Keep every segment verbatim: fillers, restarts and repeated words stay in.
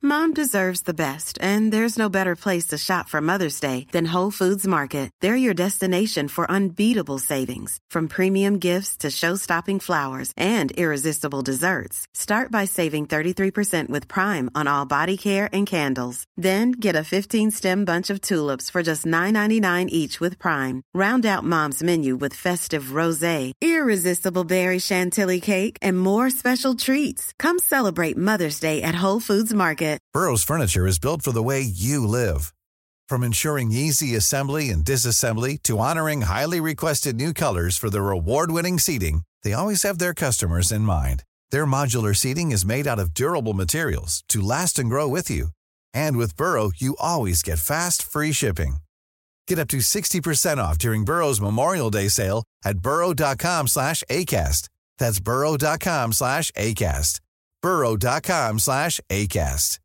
Mom deserves the best, and there's no better place to shop for Mother's Day than Whole Foods Market. They're your destination for unbeatable savings, from premium gifts to show-stopping flowers and irresistible desserts. Start by saving thirty-three percent with Prime on all body care and candles. Then get a fifteen-stem bunch of tulips for just nine ninety-nine each with Prime. Round out Mom's menu with festive rosé, irresistible berry chantilly cake, and more special treats. Come celebrate Mother's Day at Whole Foods Market. Burrow's furniture is built for the way you live. From ensuring easy assembly and disassembly to honoring highly requested new colors for their award-winning seating, they always have their customers in mind. Their modular seating is made out of durable materials to last and grow with you. And with Burrow, you always get fast, free shipping. Get up to sixty percent off during Burrow's Memorial Day sale at burrow.com slash ACAST. That's burrow.com slash ACAST. burrow.com slash ACAST.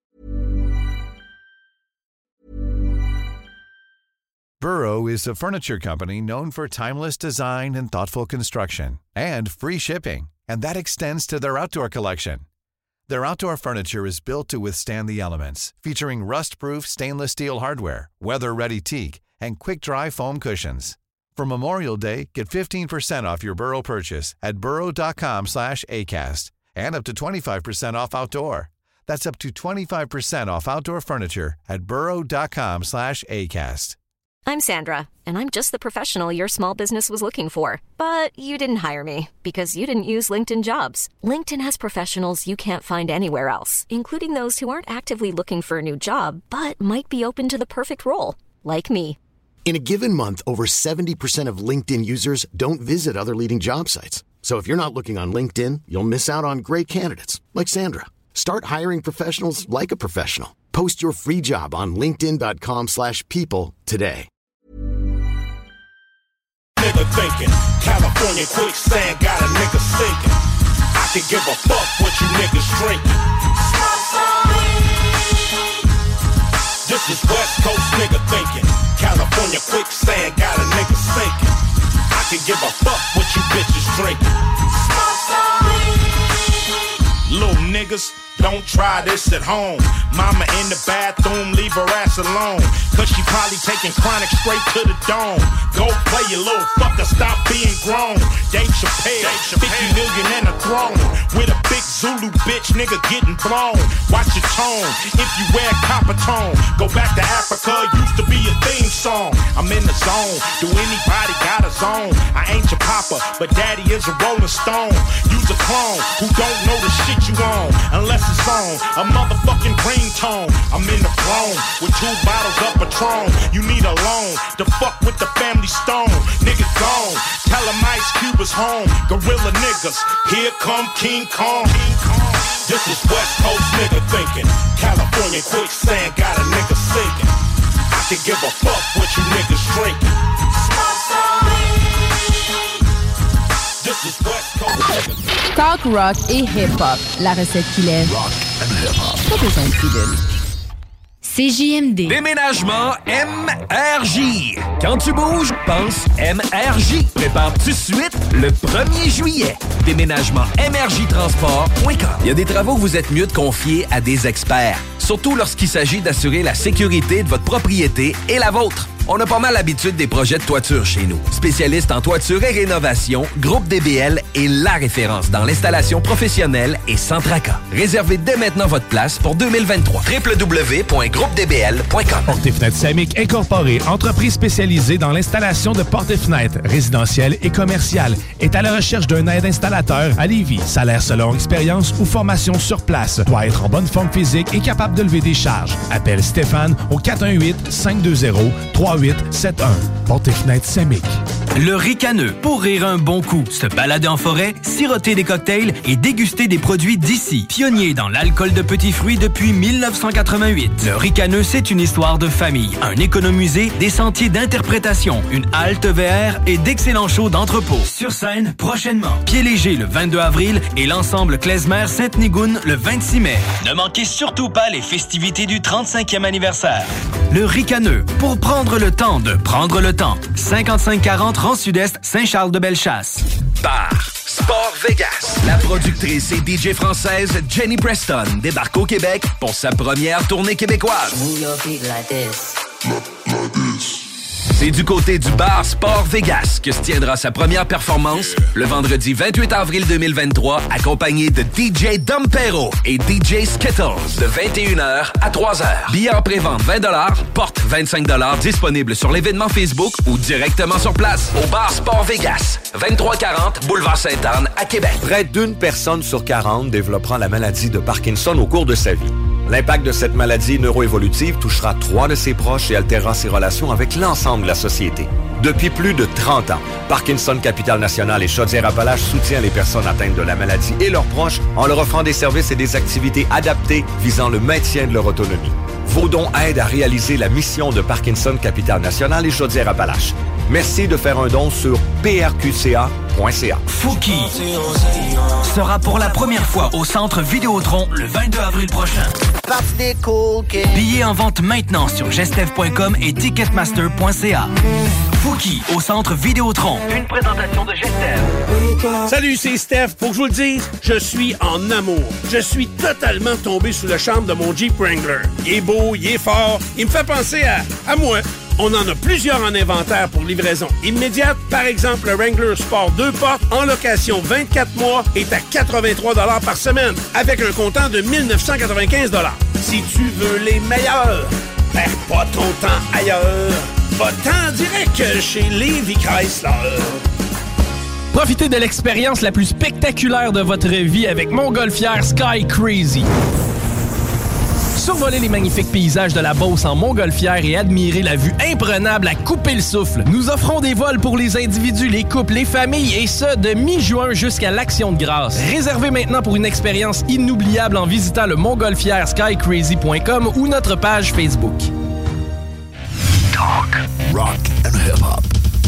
Burrow is a furniture company known for timeless design and thoughtful construction and free shipping, and that extends to their outdoor collection. Their outdoor furniture is built to withstand the elements, featuring rust-proof stainless steel hardware, weather-ready teak, and quick-dry foam cushions. For Memorial Day, get fifteen percent off your Burrow purchase at burrow.com slash ACAST and up to twenty-five percent off outdoor. That's up to twenty-five percent off outdoor furniture at burrow.com slash ACAST. I'm Sandra, and I'm just the professional your small business was looking for. But you didn't hire me because you didn't use LinkedIn Jobs. LinkedIn has professionals you can't find anywhere else, including those who aren't actively looking for a new job, but might be open to the perfect role, like me. In a given month, over seventy percent of LinkedIn users don't visit other leading job sites. So if you're not looking on LinkedIn, you'll miss out on great candidates like Sandra. Start hiring professionals like a professional. Post your free job on linkedin.com slash people today. Nigga thinking, California quicksand got a nigga sinking. I can give a fuck what you niggas drinking. This is West Coast nigga thinking, California quicksand got a nigga sinking. I can give a fuck what you bitches drinking. Little niggas, don't try this at home. Mama in the bathroom, leave her ass alone. Cause she probably taking chronic straight to the dome. Go play your little fucker, stop being grown. Dave Chappelle, Dave Chappelle. fifty million and a throne. With a big Zulu bitch, nigga getting blown. Watch your tone, if you wear copper tone. Go back to Africa, used to be a theme song. I'm in the zone, do anybody got a zone? I ain't your papa, but daddy is a rolling stone. Use a clone, who don't know the shit you on. Unless it's on a motherfucking green tone. I'm in the throne with two bottles of Patron. You need a loan to fuck with the family stone. Nigga gone, tell him Ice Cube is home. Gorilla niggas, here come King Kong. This is West Coast nigga thinking, California quicksand got a nigga sinking. I can give a fuck what you niggas drinking. This is West Coast nigga. Talk rock et hip-hop, la recette qui lève. Rock and hip-hop. Pas besoin de pilule. C J M D. Déménagement M R J. Quand tu bouges, pense M R J. Prépare tout de suite le premier juillet. Déménagement M R J transport point com. Il y a des travaux que vous êtes mieux de confier à des experts. Surtout lorsqu'il s'agit d'assurer la sécurité de votre propriété et la vôtre. On a pas mal l'habitude des projets de toiture chez nous. Spécialiste en toiture et rénovation, Groupe D B L est la référence dans l'installation professionnelle et sans tracas. Réservez dès maintenant votre place pour deux mille vingt-trois. w w w point groupe d b l point com. Portes et Fenêtres Samick Incorporée, entreprise spécialisée dans l'installation de portes et fenêtres résidentielles et commerciales, est à la recherche d'un aide installateur à Lévis. Salaire selon expérience ou formation sur place. Doit être en bonne forme physique et capable de lever des charges. Appelle Stéphane au quatre un huit, cinq deux zéro, trois huit sept un. Portes et Fenêtres Samick. Le Ricaneux, pour rire un bon coup, se balader en forêt, siroter des cocktails et déguster des produits d'ici. Pionnier dans l'alcool de petits fruits depuis mille neuf cent quatre-vingt-huit. Le Ricaneux, c'est une histoire de famille, un économusée, des sentiers d'interprétation, une halte V R et d'excellents shows d'entrepôt. Sur scène, prochainement. Pied Léger le vingt-deux avril et l'ensemble Klezmer Sainte-Nigoune le vingt-six mai. Ne manquez surtout pas les festivités du trente-cinquième anniversaire. Le Ricaneux, pour prendre le temps de prendre le temps. cinquante-cinq quarante Rang Sud-Est, Saint-Charles-de-Bellechasse. Bar Sport Vegas. La productrice et D J française Jenny Preston débarque au Québec pour sa première tournée québécoise. C'est du côté du Bar Sport Vegas que se tiendra sa première performance le vendredi vingt-huit avril deux mille vingt-trois, accompagné de D J Dompero et D J Skittles de vingt et une heures à trois heures. Billets en pré-vente vingt dollars, porte vingt-cinq dollars, disponible sur l'événement Facebook ou directement sur place au Bar Sport Vegas, vingt-trois quarante Boulevard Sainte-Anne à Québec. Près d'une personne sur quarante développera la maladie de Parkinson au cours de sa vie. L'impact de cette maladie neuroévolutive touchera trois de ses proches et altérera ses relations avec l'ensemble de la société. Depuis plus de trente ans, Parkinson Capital National et Chaudière-Appalaches soutient les personnes atteintes de la maladie et leurs proches en leur offrant des services et des activités adaptées visant le maintien de leur autonomie. Vos dons aident à réaliser la mission de Parkinson Capital National et Chaudière-Appalaches. Merci de faire un don sur p r q c a point c a. Fouki sera pour la première fois au Centre Vidéotron le vingt-deux avril prochain. Billets en vente maintenant sur gestev point com et ticketmaster point c a. Fouki au Centre Vidéotron. Une présentation de Gestev. Salut, c'est Steph. Faut que je vous le dise, je suis en amour. Je suis totalement tombé sous le charme de mon Jeep Wrangler. Il est beau, il est fort, il me fait penser à, à moi. On en a plusieurs en inventaire pour livraison immédiate. Par exemple, le Wrangler Sport deux portes en location vingt-quatre mois est à quatre-vingt-trois dollars par semaine avec un comptant de mille neuf cent quatre-vingt-quinze dollars. Si tu veux les meilleurs, perds pas ton temps ailleurs. Va-t'en direct chez Lévi Chrysler. Profitez de l'expérience la plus spectaculaire de votre vie avec Montgolfière Sky Crazy. Survoler les magnifiques paysages de la Beauce en Montgolfière et admirer la vue imprenable à couper le souffle. Nous offrons des vols pour les individus, les couples, les familles et ce, de mi-juin jusqu'à l'Action de grâce. Réservez maintenant pour une expérience inoubliable en visitant le montgolfière sky crazy point com ou notre page Facebook. Talk, rock and hip-hop.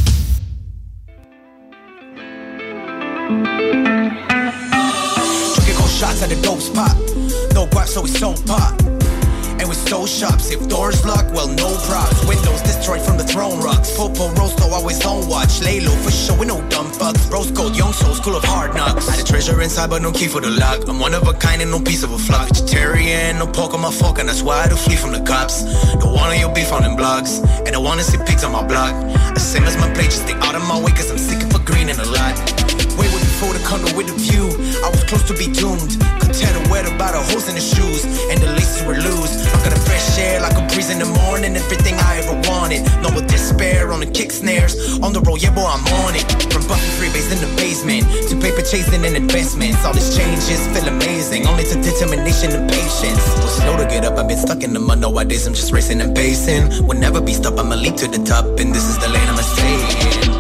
Drinking shots at the dope spot. No guap, so we so pop. And we stole shops. If doors locked, well, no props. Windows destroyed from the throne rocks. Popo Rosto always on watch. Lay low for sure, we no dumb fucks. Rose gold, young soul, school of hard knocks. Had a treasure inside, but no key for the lock. I'm one of a kind and no piece of a flock. Vegetarian, no pork on my fork, and that's why I do flee from the cops. Don't want your beef on them blogs, and I wanna see pigs on my block. The same as my plate, just stay out of my way, cause I'm sick of a green and a lot. Way way before the condo with a view, I was close to be doomed. Could tell the weather by the holes in the shoes, and the laces were loose. I got a fresh air like a breeze in the morning, everything I ever wanted. No more despair on the kick snares, on the road, yeah boy I'm on it. From Buffy freebase in the basement, to paper chasing and investments. All these changes feel amazing, only to determination and patience. Was slow to get up, I've been stuck in the mud nowadays, I'm just racing and pacing. Will never be stopped, I'ma leap to the top, and this is the lane I'ma stay in.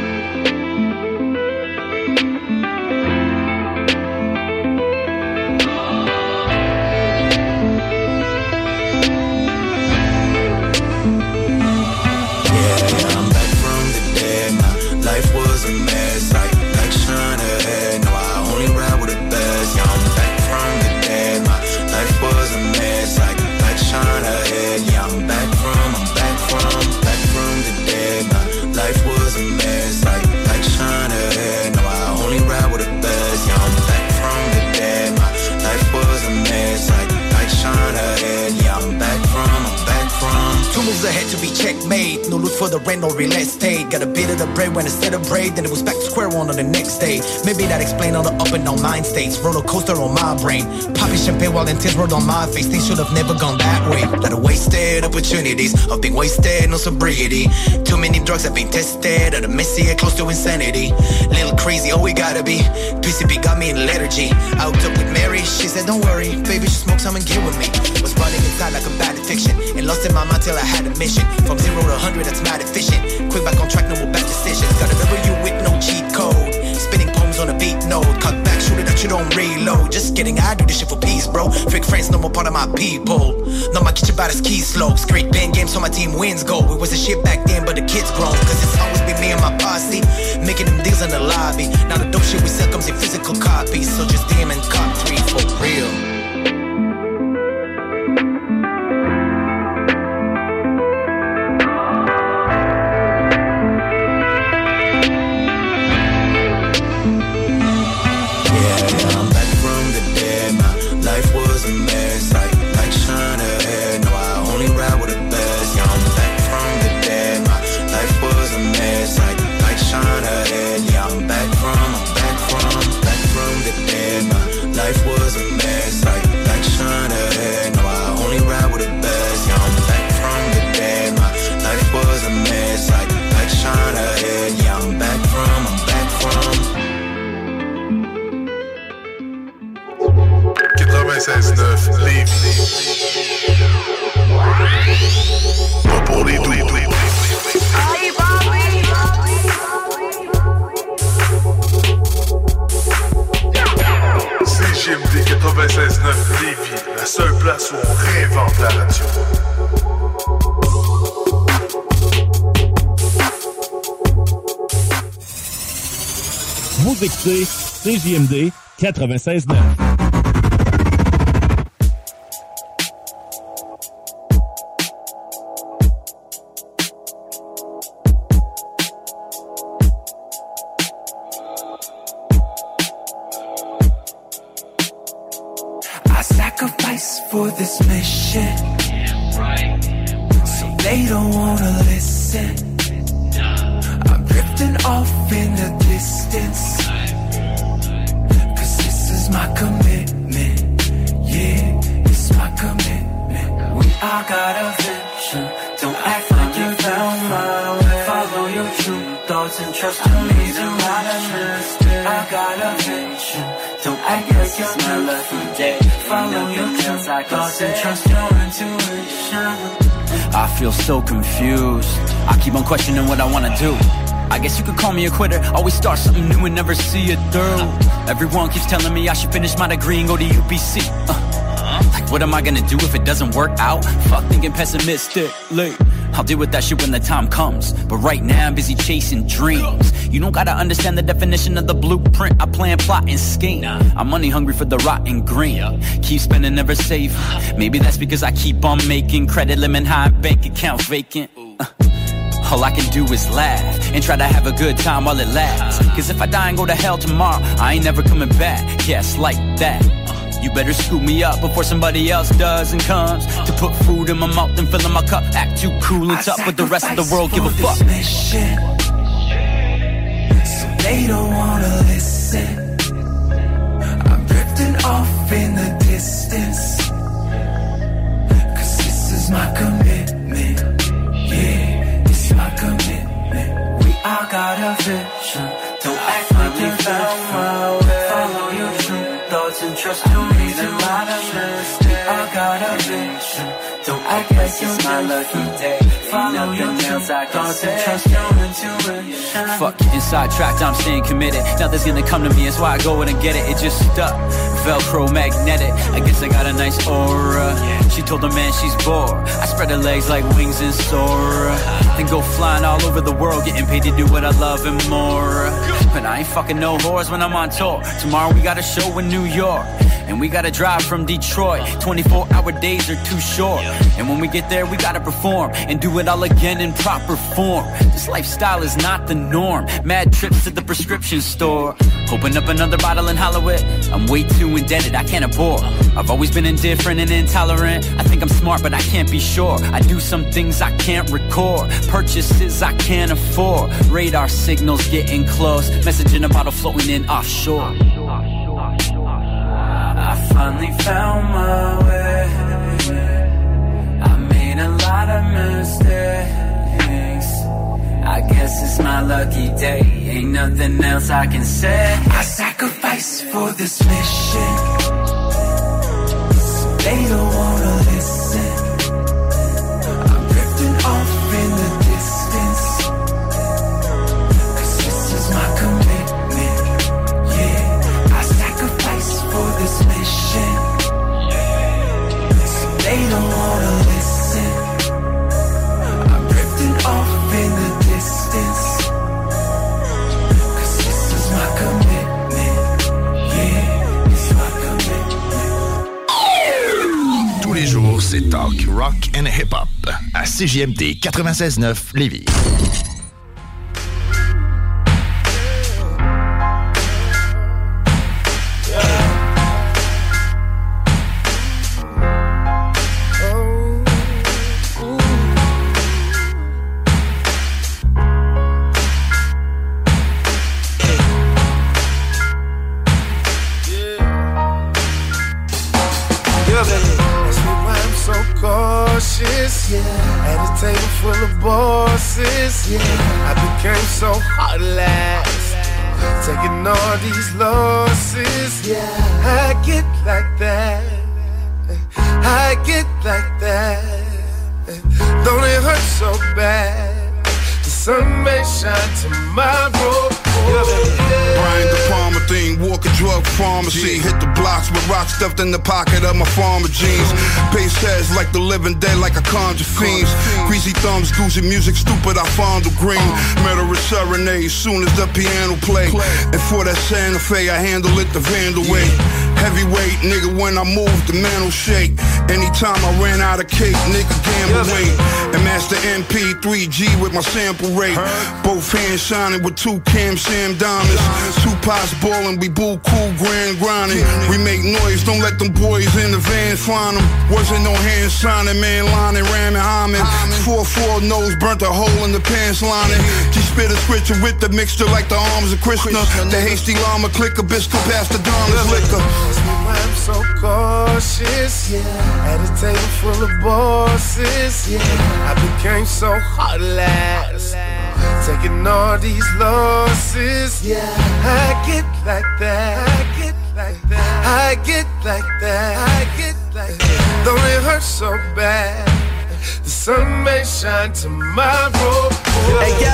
Ahead to be checkmate, no loot for the rent or real estate. Got a bit of the bread when I celebrate, then it was back to square one on the next day. Maybe that explain all the up and down mind states. Roller coaster on my brain, popping champagne while the tears rolled on my face. Things should have never gone that way. Lot of wasted opportunities, I've been wasted, no sobriety. Too many drugs have been tested, at a messy and close to insanity. Little crazy, oh we gotta be. P C P got me in lethargy. Out up with Mary, she said don't worry, baby just smoke some and get with me. Was running inside like a bad addiction, and lost in my mind till I had a mission. From zero to hundred, that's mad efficient. Quick back on track, no more bad decisions. Gotta remember you with no cheat code. Spinning poems on a beat note. Cut back, shoot it that you don't reload. Just kidding, I do this shit for peace, bro. Fake friends, no more part of my people. No, my kitchen about his key slopes. Great band games so my team wins go. It was a shit back then, but the kids grown. Cause it's always been me and my posse, making them deals in the lobby. Now the dope shit we sell comes in physical copies. So just damn and cop three for real. réinvente la radio. Vous écoutez C J M D quatre-vingt-seize neuf. For this mission, so they don't wanna listen. I'm drifting off in the distance, cause this is my commitment. Yeah, it's my commitment. We all got a vision, don't act like you found my way. Follow your true thoughts and trust in me to manifest it. I got a vision, don't act like it's my lucky day. Follow your true thoughts and trust your intuition. I feel so confused. I keep on questioning what I wanna do. I guess you could call me a quitter. Always start something new and never see it through. Everyone keeps telling me I should finish my degree and go to U B C. Uh, like what am I gonna do if it doesn't work out? Fuck thinking pessimistically. I'll deal with that shit when the time comes. But right now I'm busy chasing dreams. You don't gotta understand the definition of the blueprint. I plan, plot, and scheme. I'm money hungry for the rotten green. Keep spending, never save. Maybe that's because I keep on making credit limit high, bank account vacant. Uh, all I can do is laugh and try to have a good time while it lasts. Cause if I die and go to hell tomorrow, I ain't never coming back. Yes, like that. You better scoop me up before somebody else does and comes to put food in my mouth and fill in my cup. Act too cool and tough, but the rest of the world give a fuck. Mission, so they don't wanna listen. I'm drifting off in the distance, cause this is my commitment. Yeah, it's my commitment. We all got a vision, don't act like you found my way. Follow your true thoughts and trust your reason. I got a vision, don't act like it's my lucky day. Follow your true thoughts and trust your intuition. Fuck getting sidetracked, I'm staying committed. Nothing's gonna come to me, that's why I go in and get it. It just stuck, Velcro magnetic. I guess I got a nice aura. She told the man she's bored. I spread her legs like wings and soar. Then go flying all over the world, getting paid to do what I love and more. But I ain't fucking no whores when I'm on tour. Tomorrow we got a show in New York, and we gotta drive from Detroit. twenty-four hour days are too short, and when we get there we gotta perform and do it all again in proper form. This lifestyle is not the norm. Mad trips to the prescription store, open up another bottle and hollow it. I'm way too indebted, I can't afford. I've always been indifferent and intolerant. I think I'm smart but I can't be sure. I do some things I can't record, purchases I can't afford. Radar signals getting close, message in a bottle floating in offshore. I finally found my way. I made a lot of mistakes. I guess it's my lucky day. Ain't nothing else I can say. I sacrifice for this mission, so they don't wanna listen. I'm drifting off in the distance, cause this is my commitment. Yeah, I sacrifice for this mission, so they don't wanna listen. I'm drifting off in the distance, cause this is my commitment. Yeah, it's my commitment. Tous les jours, c'est talk, rock and hip-hop à C J M D quatre-vingt-seize neuf Lévis. Taking all these losses, yeah. I get like that, I get like that. Don't it hurt so bad to sun may shine tomorrow. Brian De Palma thing, walk a drug pharmacy. Hit the blocks with rocks stuffed in the pocket of my farmer jeans. Pace heads like the living dead, like I conjure fiends. Greasy thumbs, goosey music, stupid, I fondle green. Murderous serenade, soon as the piano play. And for that Santa Fe, I handle it the Vandal way. Heavyweight, nigga, when I move, the man will shake. Anytime I ran out of cake, nigga, gamble weight. And master M P three G with my sample rate. Both hands shining with two Cam Sam diamonds. Two pots boiling, we boo cool, grand grinding. We make noise, don't let them boys in the van find them. Wasn't no hand signing, man lining, ramming, hymen. four four nose, burnt a hole in the pants lining. She spit a scripture with the mixture like the arms of Krishna. The hasty llama click a biscuit past the Donna's liquor. I'm so cautious, yeah. At a table full of bosses, yeah. I became so heartless, taking all these losses, yeah. I get like that, I get like that, I get like that, I get like that. Don't it hurt so bad? The sun may shine tomorrow. Hey yo,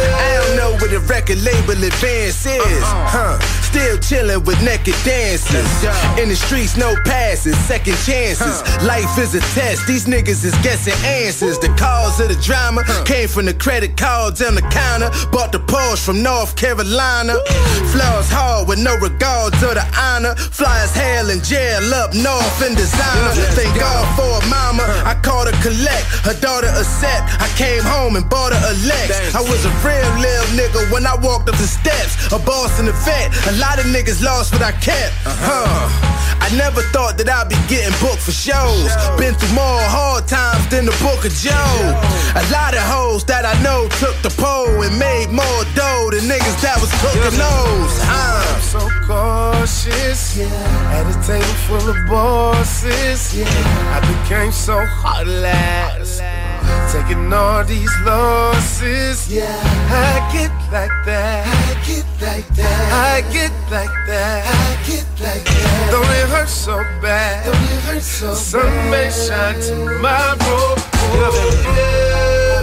I don't know what the record label advance is, huh? Still chillin' with naked dancers. In the streets, no passes, second chances. Life is a test, these niggas is guessing answers. The cause of the drama came from the credit cards on the counter. Bought the Porsche from North Carolina. Flows hard with no regard to the honor. Fly as hell in jail up north in designer. Thank God for a mama, I called her collect. Her daughter accept, I came home and bought her a Lex. I was a real little nigga when I walked up the steps. A boss and a vet, a lot of niggas lost what I kept. Uh-huh. I never thought that I'd be getting booked for shows. Been through more hard times than the Book of Job. A lot of hoes that I know took the pole and made more dough than niggas that was cooking those. Uh. I'm so cautious, yeah. At a table full of bosses, yeah. I became so heartless, taking all these losses, yeah. I get like that, I get like that, I get like that, I get like that. Don't it hurt so bad? Don't it hurt so bad? Sun may shine tomorrow. Oh yeah,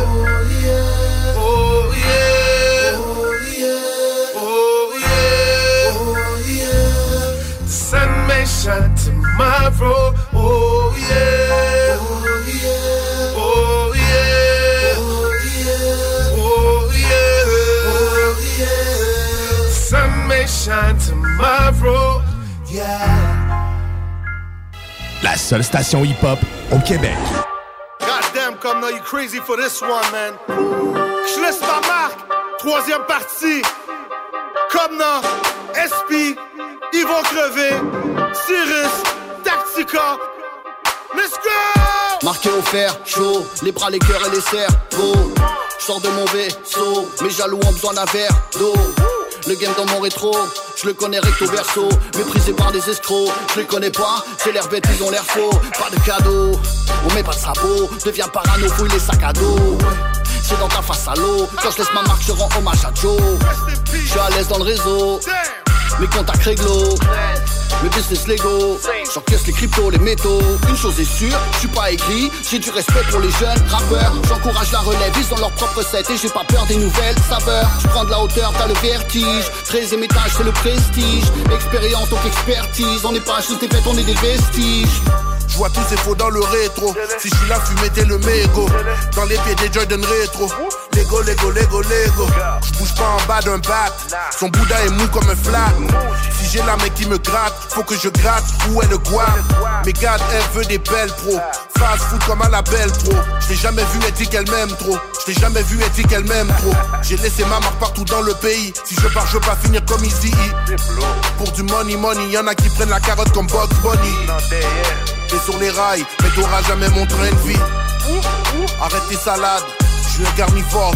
oh yeah, oh yeah, oh yeah, oh yeah. The sun may shine tomorrow. Oh yeah, oh yeah, oh yeah, oh yeah, oh yeah. The sun may shine tomorrow. Yeah. La seule station hip-hop au Québec. Goddamn, comme now you crazy for this one, man. Je laisse ma marque. Troisième partie. Comme now, S P, ils vont crever. Cyrus, Tactica. Let's go! Marqué au fer, chaud, les bras, les cœurs et les cerveaux. J'sors de mon vaisseau, mes jaloux ont besoin d'un verre d'eau. Le game dans mon rétro, je le connais recto verso. Méprisé par des escrocs, je les connais pas. C'est l'air bête, ils ont l'air faux. Pas de cadeau, on met pas de sabot. Deviens parano, fouille les sacs à dos. C'est dans ta face à l'eau. Quand je laisse ma marque, je rends hommage à Joe. Je suis à l'aise dans le réseau, mes contacts réglo, mes business légaux. J'encaisse les cryptos, les métaux. Une chose est sûre, je suis pas aigri. J'ai du respect pour les jeunes rappeurs. J'encourage la relève, ils ont leur propre set. Et j'ai pas peur des nouvelles saveurs. Je prends de la hauteur, t'as le vertige. treizième étage, c'est le prestige. Expérience donc expertise. On n'est pas juste des bêtes, on est des vestiges. Je vois tous ces faux dans le rétro. Si je suis là, fumer t'es le mégot. Dans les pieds des Jordan rétro. Lego, Lego, Lego, Lego. Je bouge pas en bas d'un bat. Son Bouddha est mou comme un flat. Si j'ai la mec qui me gratte, faut que je gratte. Où est le guam? Mais garde, elle veut des belles pros. Fast food comme à la belle pro. Je l'ai jamais vu, elle dit qu'elle m'aime trop. Je l'ai jamais vu, elle dit qu'elle m'aime trop. J'ai laissé ma marque partout dans le pays. Si je pars, je veux pas finir comme Easy E. Pour du money, money, y'en a qui prennent la carotte comme Bugs Bunny. T'es sur les rails, mais t'auras jamais mon train de vie. Arrête tes salades, je suis un carnivore.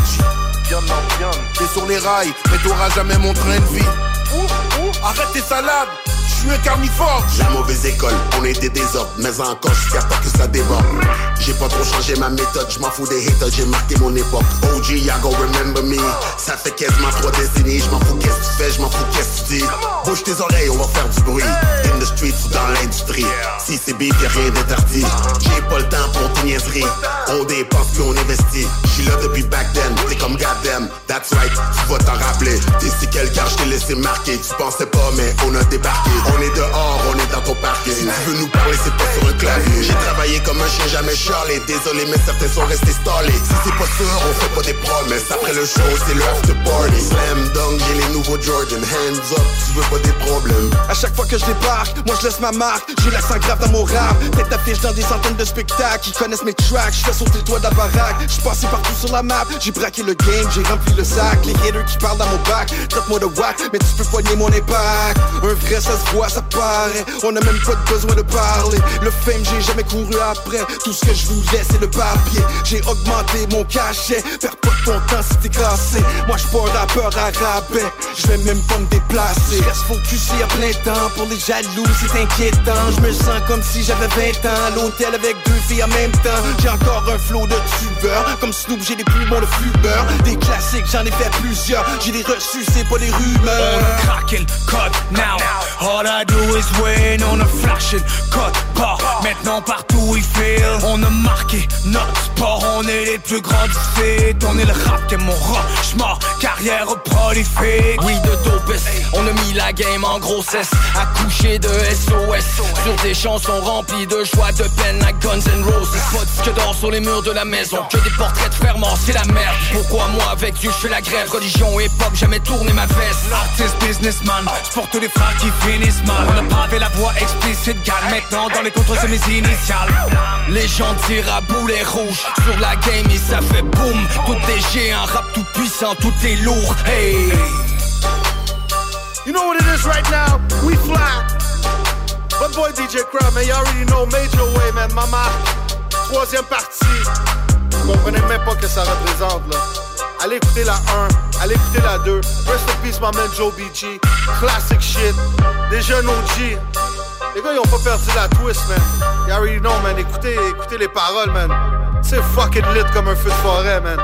T'es sur les rails, mais t'auras jamais mon train de vie. Arrête tes salades, je suis un carnivore. La mauvaise école, on est des désordres, mais encore jusqu'à temps que ça déborde. J'ai pas trop changé ma méthode, je m'en fous des haters, j'ai marqué mon époque. O G, ya go remember me. Ça fait quasiment trois décennies, je m'en fous qu'est-ce que tu fais, je m'en fous qu'est-ce que tu dis. Bouge tes oreilles, on va faire du bruit. In the streets ou dans l'industrie. Si c'est beef, y'a rien d'interdit. J'ai pas le temps pour tes niaiseries. On dépense puis on investit. J'suis là depuis back then, t'es comme goddamn. That's right, tu vas t'en rappeler. T'es si quel car j't'ai laissé marquer. Tu pensais pas mais on a débarqué. On est dehors, on est dans ton parquet. Si tu veux nous parler c'est pas sur un clavier. J'ai travaillé comme un chien, jamais Charlie. Désolé mais certains sont restés stallés. Si c'est pas sûr, on fait pas des promesses. Après le show, c'est le after party. Slam dunk, j'ai les nouveaux Jordan. Hands up, tu veux pas des problèmes. À chaque fois que je débarque, moi je laisse ma marque. J'ai l'accent grave dans mon rap. Tête d'affiche dans des centaines de spectacles. Ils connaissent mes tracks, je fais sauter le toit de la baraque. J'suis passé partout sur la map. J'ai braqué le game, j'ai rempli le sac. Les haters qui parlent dans mon bac, traite-moi de whack, mais tu peux poigner mon impact. Un vrai ça se voit, ça paraît. On a même pas besoin de parler. Le fame, j'ai jamais couru après. Tout ce que je voulais, c'est le papier. J'ai augmenté mon cachet. Perds pas ton temps si t'es cassé. Moi j'suis pas un rappeur à rabais. J'vais même pas me déplacer. J'reste focusé à plein temps. Pour les jaloux, c'est inquiétant. J'me sens comme si j'avais vingt ans. À l'hôtel avec deux filles en même temps. J'ai encore un flow de tubeur. Comme Snoop, j'ai des poumons de fumeur. Des classiques, j'en ai fait plusieurs. J'ai les reçus, c'est pas des rumeurs. On a craqué le code now. All I do is win. On a flashé code pas. Maintenant partout il feel. On a marqué notre sport. On est les plus grands du fait. On est le rap qui est mon rochement. Carrière prolifique. Oui de dopest. On a mis la game en grossesse. Accouché de S O S. Sur des chansons remplies de joie, de peine à Guns N' Roses. Pas de disque d'or sur les murs de la maison. Que des portraits de frères morts, c'est la merde. Pourquoi moi avec Dieu je fais la grève. Religion et pop, jamais tourné ma veste. Artist, businessman, sport tous les frères qui finissent mal. On a pavé la voix explicite, gale. Maintenant dans les contres c'est mes initiales. Les gens tirent à boulet rouge. Sur la game et ça fait boum. Tout est géant, rap tout puissant, tout est lourd. Hey. You know what it is right now? We fly. But boy D J Crowd, man, you already know Major Way, man. Mama, troisième partie. Vous comprenez même pas ce que ça représente, là. Allez écouter la un, allez écouter la deux. Rest in peace, my man Joe B G. Classic shit. Des jeunes O G. Les gars, ils ont pas perdu la twist, man. You already know, man. Écoutez, écoutez les paroles, man. C'est fucking lit comme un feu de forêt, man.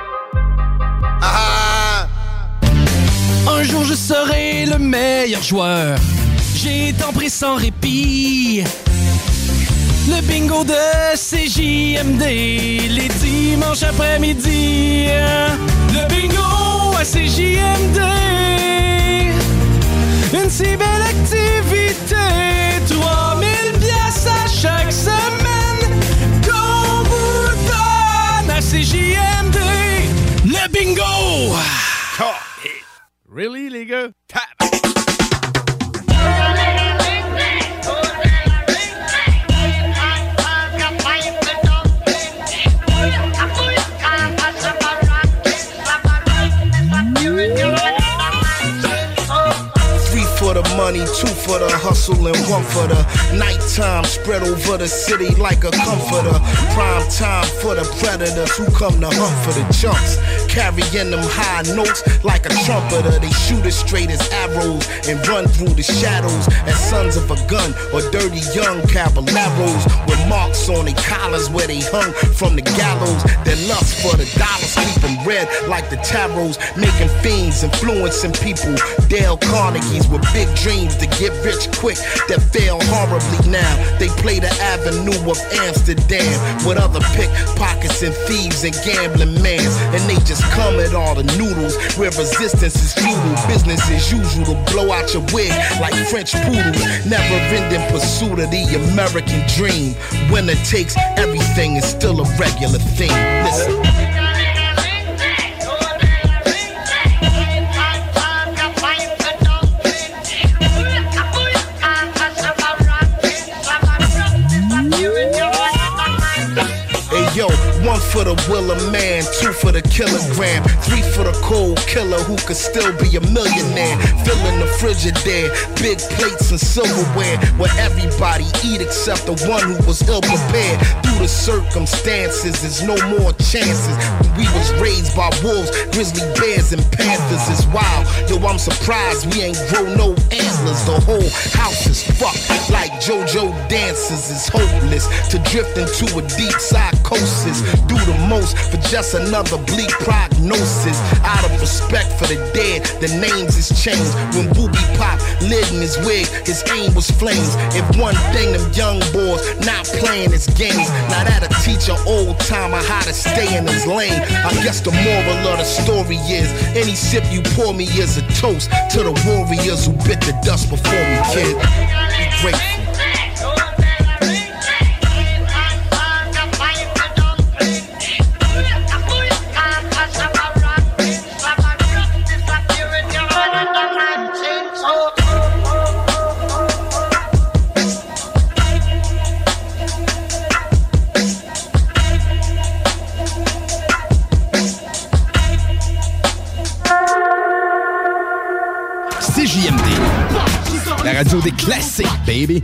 Ah! Un jour je serai le meilleur joueur. J'ai tant pris sans répit. Le bingo de C J M D, les dimanches après-midi. Le bingo à C J M D, une si belle activité. trois mille piastres à chaque semaine qu'on vous donne à C J M D. Le bingo! Really, les gars? Tap! For the money, two for the hustle, and one for the nighttime. Spread over the city like a comforter. Prime time for the predators who come to hunt for the chunks. Carrying them high notes like a trumpeter. They shoot as straight as arrows and run through the shadows as sons of a gun or dirty young caballeros with marks on their collars where they hung from the gallows. Their lust for the dollars keep them red like the tarots, making fiends, influencing people. Dale Carnegie's with big dreams to get rich quick that fail horribly now. They play the avenue of Amsterdam with other pickpockets and thieves and gambling mans, and they just come at all the noodles where resistance is futile. Business as usual to blow out your wig like French poodles. Never ending pursuit of the American dream. Winner takes everything is still a regular thing. Listen. Yo, one for the Willer man, two for the kilogram, three for the cold killer who could still be a millionaire. Filling the Frigidaire, big plates and silverware, where everybody eat except the one who was ill prepared. Through the circumstances, there's no more chances. We was raised by wolves, grizzly bears, and panthers. It's wild, yo, I'm surprised we ain't grow no antlers. The whole house is fucked like JoJo dances. It's hopeless to drift into a deep psychosis. Do the most for just another bleak prognosis. Out of respect for the dead, the names is changed. When Booby Pop lit in his wig, his aim was flames. If one thing them young boys not playing his games, now that'll teach teach an old timer how to stay in his lane. I guess the moral of the story is any sip you pour me is a toast to the warriors who bit the dust before me, kid. Be grateful. C J M D, la radio des classiques, baby.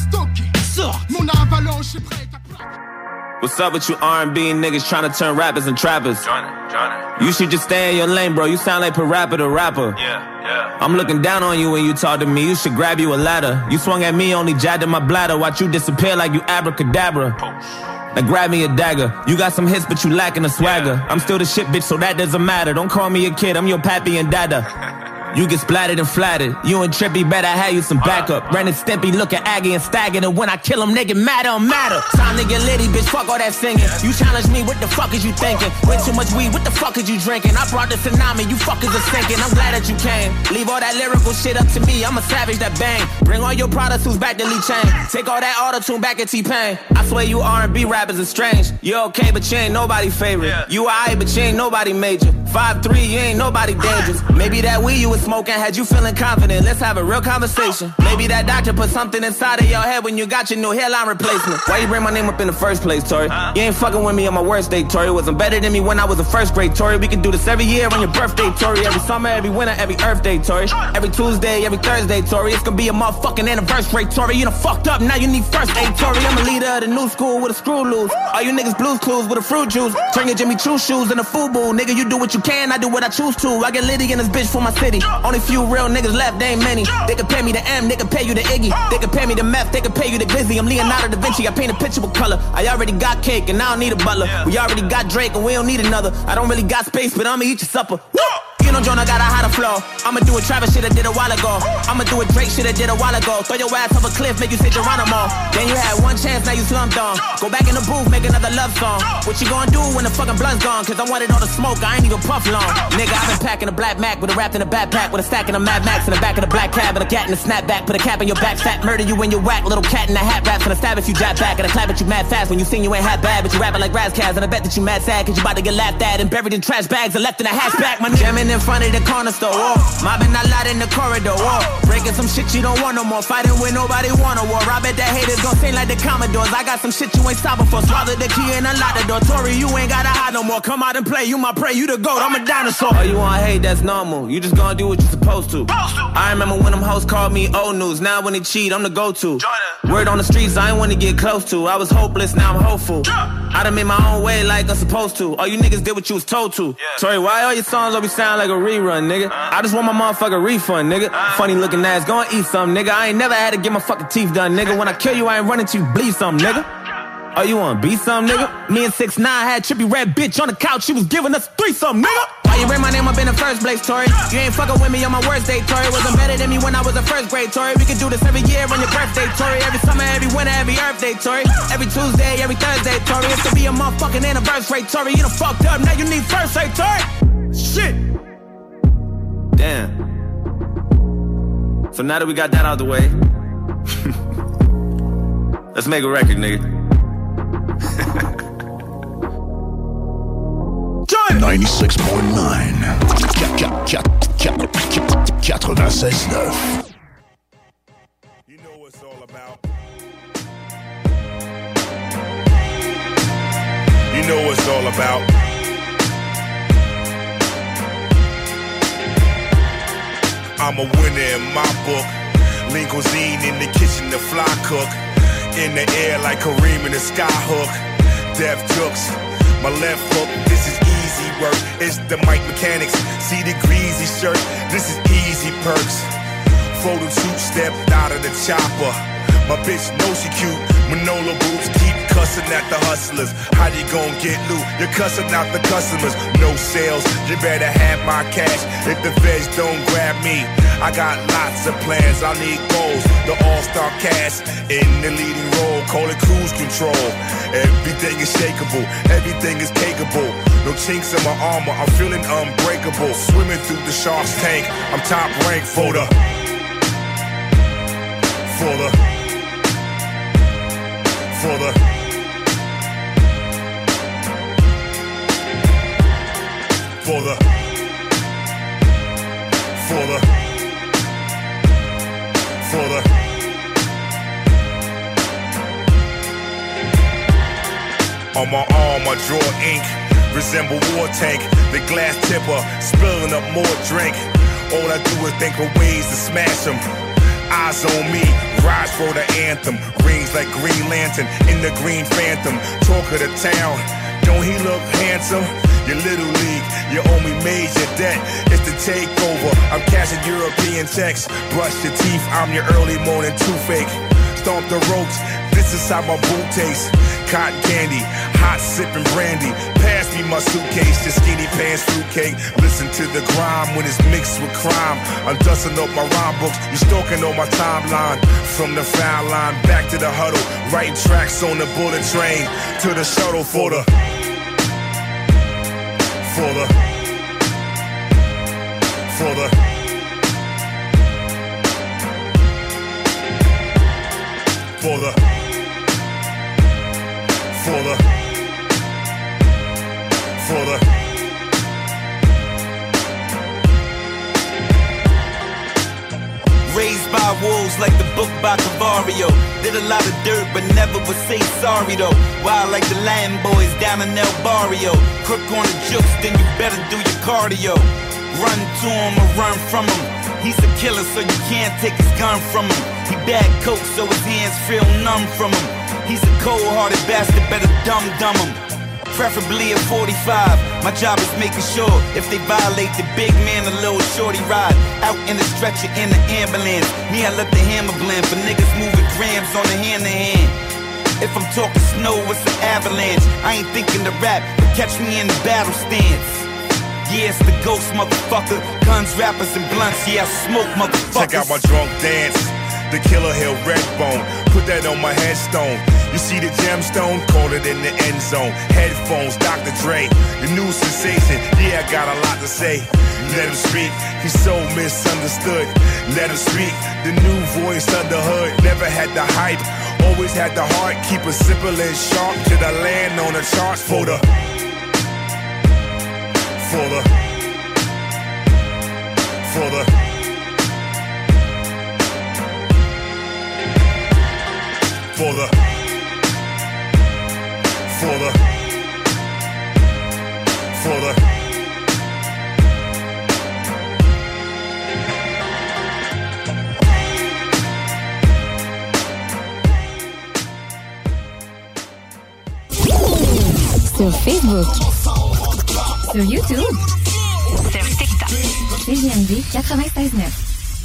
What's up with you R and B niggas trying to turn rappers and trappers? Johnny, Johnny. You should just stay in your lane, bro. You sound like Parappa the rapper. Yeah, yeah. I'm looking down on you when you talk to me. You should grab you a ladder. You swung at me, only jabbed in my bladder. Watch you disappear like you abracadabra. Now grab me a dagger. You got some hits, but you lacking a swagger. Yeah. I'm still the shit, bitch, so that doesn't matter. Don't call me a kid, I'm your pappy and dada. You get splattered and flattered. You and Trippy better have you some backup. Ren and Stimpy look at Aggie and staggered. And when I kill him, they get mad on matter. Time to get litty, bitch, fuck all that singing. You challenge me, what the fuck is you thinking? Way too much weed, what the fuck is you drinking? I brought the tsunami, you fuckers are sinking. I'm glad that you came. Leave all that lyrical shit up to me, I'm a savage that bang. Bring all your products who's back to Lee Chain. Take all that auto-tune back at T-Pain. I swear you R and B rappers are strange. You okay, but you ain't nobody favorite. You alright, but you ain't nobody major. five three, you ain't nobody dangerous. Maybe that weed you was smoking had you feeling confident. Let's have a real conversation. Maybe that doctor put something inside of your head when you got your new hairline replacement. Why you bring my name up in the first place, Tori? You ain't fucking with me on my worst day, Tori. Wasn't better than me when I was in first grade, Tori. We can do this every year on your birthday, Tori. Every summer, every winter, every Earth Day, Tori. Every Tuesday, every Thursday, Tori. It's gonna be a motherfucking anniversary, Tori. You done fucked up, now you need first aid, Tori. I'm a leader of the new school with a screw loose. All you niggas blues clues with a fruit juice. Turn your Jimmy Choo shoes into FUBU. Nigga, you do what you can, I do what I choose to. I get litty in this bitch for my city. Only few real niggas left, they ain't many. They could pay me the M, they could pay you the Iggy. They could pay me the meth, they could pay you the Glizzy. I'm Leonardo da Vinci, I paint a picture with color. I already got cake and I don't need a butler. We already got Drake and we don't need another. I don't really got space, but I'ma eat your supper. Woo! You know, Jonah got a hotter flow. I'ma do a Travis shit I did a while ago. I'ma do a Drake shit I did a while ago. Throw your ass off a cliff, make you say Geronimo. Then you had one chance, now you slumped on. Go back in the booth, make another love song. What you gonna do when the fucking blunt's gone? Cause I wanted all the smoke, I ain't even puff long. Nigga, I've been packing a black Mac with a wrapped in a backpack with a stack in a Mad Max in the back of the black cab and a cat in a snapback. Put a cap in your back, fat murder you when you whack. Little cat in a hat raps and a stab if you jab back. And a clap at you mad fast when you sing you ain't half bad. But you rapping like Razzcast and I bet that you mad sad cause you about to get laughed at and buried in trash bags and left in a hatchback. My jamming in front of the corner store, oh. Mobbing a lot in the corridor, oh. Breaking some shit you don't want no more. Fighting with nobody want a war. I bet that haters gon' sing like the Commodores. I got some shit you ain't stopping for. Swallow the key and unlock the door. Tory, you ain't gotta hide no more. Come out and play, you my prey, you the goat, I'm a dinosaur. Oh, you want hate, that's normal. You just gonna do what you supposed to. I remember when them hoes called me old news. Now when they cheat, I'm the go-to. Word on the streets, I ain't wanna get close to. I was hopeless, now I'm hopeful. I done made my own way like I'm supposed to. All you niggas did what you was told to. Tory, why all your songs always sound like a rerun, nigga? I just want my motherfucking refund, nigga. Funny looking ass, go and eat some, nigga. I ain't never had to get my fucking teeth done, nigga. When I kill you, I ain't running to you, bleed some, nigga. Oh, you wanna be some, nigga? Me and six nine had trippy red bitch on the couch. She was giving us threesome, nigga. Why you bring my name up in the first place, Tory? You ain't fucking with me on my worst day, Tory. Wasn't better than me when I was in first grade, Tory. We can do this every year on your birthday, Tory. Every summer, every winter, every Earth Day, Tory. Every Tuesday, every Thursday, Tory. It's gonna be a motherfucking anniversary, Tory. You done fucked up, now you need first aid, Tory. Shit. Damn. So now that we got that out of the way, let's make a record, nigga. ninety-six point nine quatre-vingt-seize neuf. You know what it's all about. You know what it's all about. I'm a winner in my book. Lean cuisine in the kitchen, the fly cook. In the air like Kareem in the sky hook. Death jokes, my left hook. This is easy work. It's the mic mechanics. See the greasy shirt. This is easy perks. Photo two stepped out of the chopper. My bitch knows she cute. Manolo boots keep cussing at the hustlers. How they gon' get loot? You're cussing out the customers. No sales, you better have my cash. If the feds don't grab me, I got lots of plans. I need goals. The all-star cast in the leading role. Call it cruise control. Everything is shakeable. Everything is cakeable. No chinks in my armor. I'm feeling unbreakable. Swimming through the shark's tank. I'm top ranked for the For the For the For the For the For the On my arm I draw ink, resemble war tank. The glass tipper, spilling up more drink. All I do is think of ways to smash them. Eyes on me, rise for the anthem. Rings like Green Lantern in the Green Phantom. Talk of the town, don't he look handsome? Your little league, you owe me major debt. It's the takeover, I'm cashing European checks. Brush your teeth, I'm your early morning toothache. Stomp the ropes, this is how my boot tastes. Cotton candy, hot sipping brandy. Pass me my suitcase, your skinny pants fruitcake. Listen to the grime when it's mixed with crime. I'm dusting up my rhyme books, you stalking on my timeline. From the foul line back to the huddle, writing tracks on the bullet train to the shuttle for the For the For the For the For the For the Raised by wolves like the book by Cavario. Did a lot of dirt but never would say sorry though. Wild like the Latin boys down in El Barrio. Crook on the jukes, then you better do your cardio. Run to him or run from him. He's a killer so you can't take his gun from him. He bad coke so his hands feel numb from him. He's a cold-hearted bastard, better dumb-dumb him. Preferably at forty-five. My job is making sure if they violate the big man, a little shorty ride. Out in the stretcher in the ambulance. Me, I let the hammer blend for niggas moving grams on the hand-to-hand. If I'm talking snow, it's an avalanche. I ain't thinking to rap, but catch me in the battle stance. Yeah, it's the ghost, motherfucker. Guns, rappers, and blunts, yeah, I smoke, motherfuckers. Check out my drunk dance. The Killer Hill red bone, put that on my headstone. You see the gemstone, call it in the end zone. Headphones, Doctor Dre, the new sensation. Yeah, I got a lot to say. Let him speak, he's so misunderstood. Let him speak, the new voice under hood. Never had the hype, always had the heart. Keep it simple and sharp to the land on the charts. For the For the For the For the, for the, for the. Sur Facebook, sur YouTube, sur TikTok, C J M D quatre-vingt-seize neuf.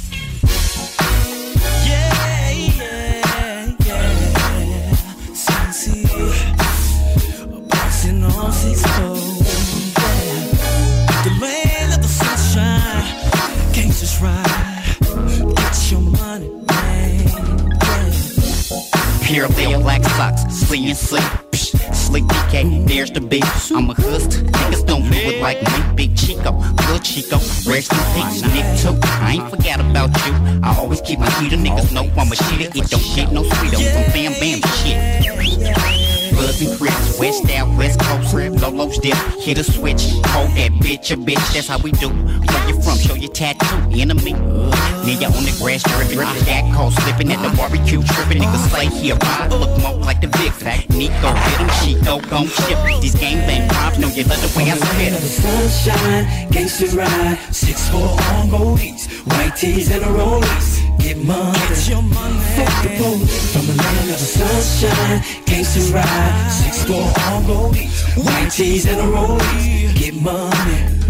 Pure Leo black socks, sleep and sleep. Slick D K, there's the beat. I'm a hust, niggas don't do it like me. Big Chico, Lil Chico, rest in peace, Nick too. I ain't forgot about you. I always keep my heater, niggas know I'm a shitter. It don't get no sweeter from Bam Bam shit. Bloods and Crips, West out, West Coast, Lolo's dip, hit a switch, hold that bitch a bitch, that's how we do. Where you from, show your tattoo, enemy. Nigga on the grass dripping, I got cold slipping at the barbecue tripping, niggas slay here, ride, look more like the Vic Fact. Nico hit him, Chico gon' chip. These gangbang props, know you love the way I spit. Sunshine, gangsta ride, six four on goldies, white tees and a rollies. Get money, get your money. Fuck the police. From the land of the sunshine, gangsta ride, six four on goldies, white tees and a rollies. Get money.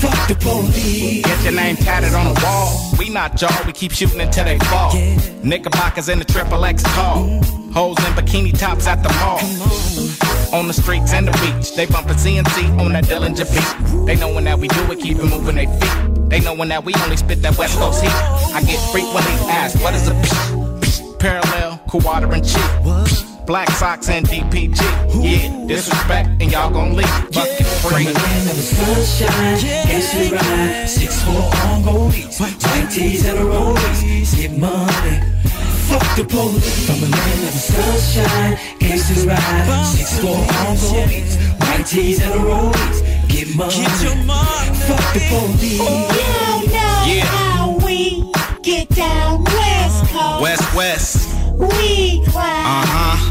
Fuck the police. Get your name tatted on the wall. We not y'all, we keep shooting until they fall. Yeah. Knickerbockers in the triple X tall. Mm. Hoes in bikini tops at the mall. On. on the streets and the beach, they bumpin' C N C on that Dillinger beat. They knowin' that we do it, keep it moving they feet. They knowin' that we only spit that West Coast heat. I get frequently asked, what is a psh? Parallel, quarter and cheek. Black socks and D P G. Yeah, disrespect and y'all gon' leave. Fuck it, free. From the land of the sunshine, gangsta ride, six four on goldies, white tees and a rollies, get money. Fuck the police. From the land of the sunshine, gangsta ride, six four on goldies, white tees and a rollies, get money. Get your money. Fuck the police. You know yeah. how we get down West Coast. West West. We climb. Uh-huh.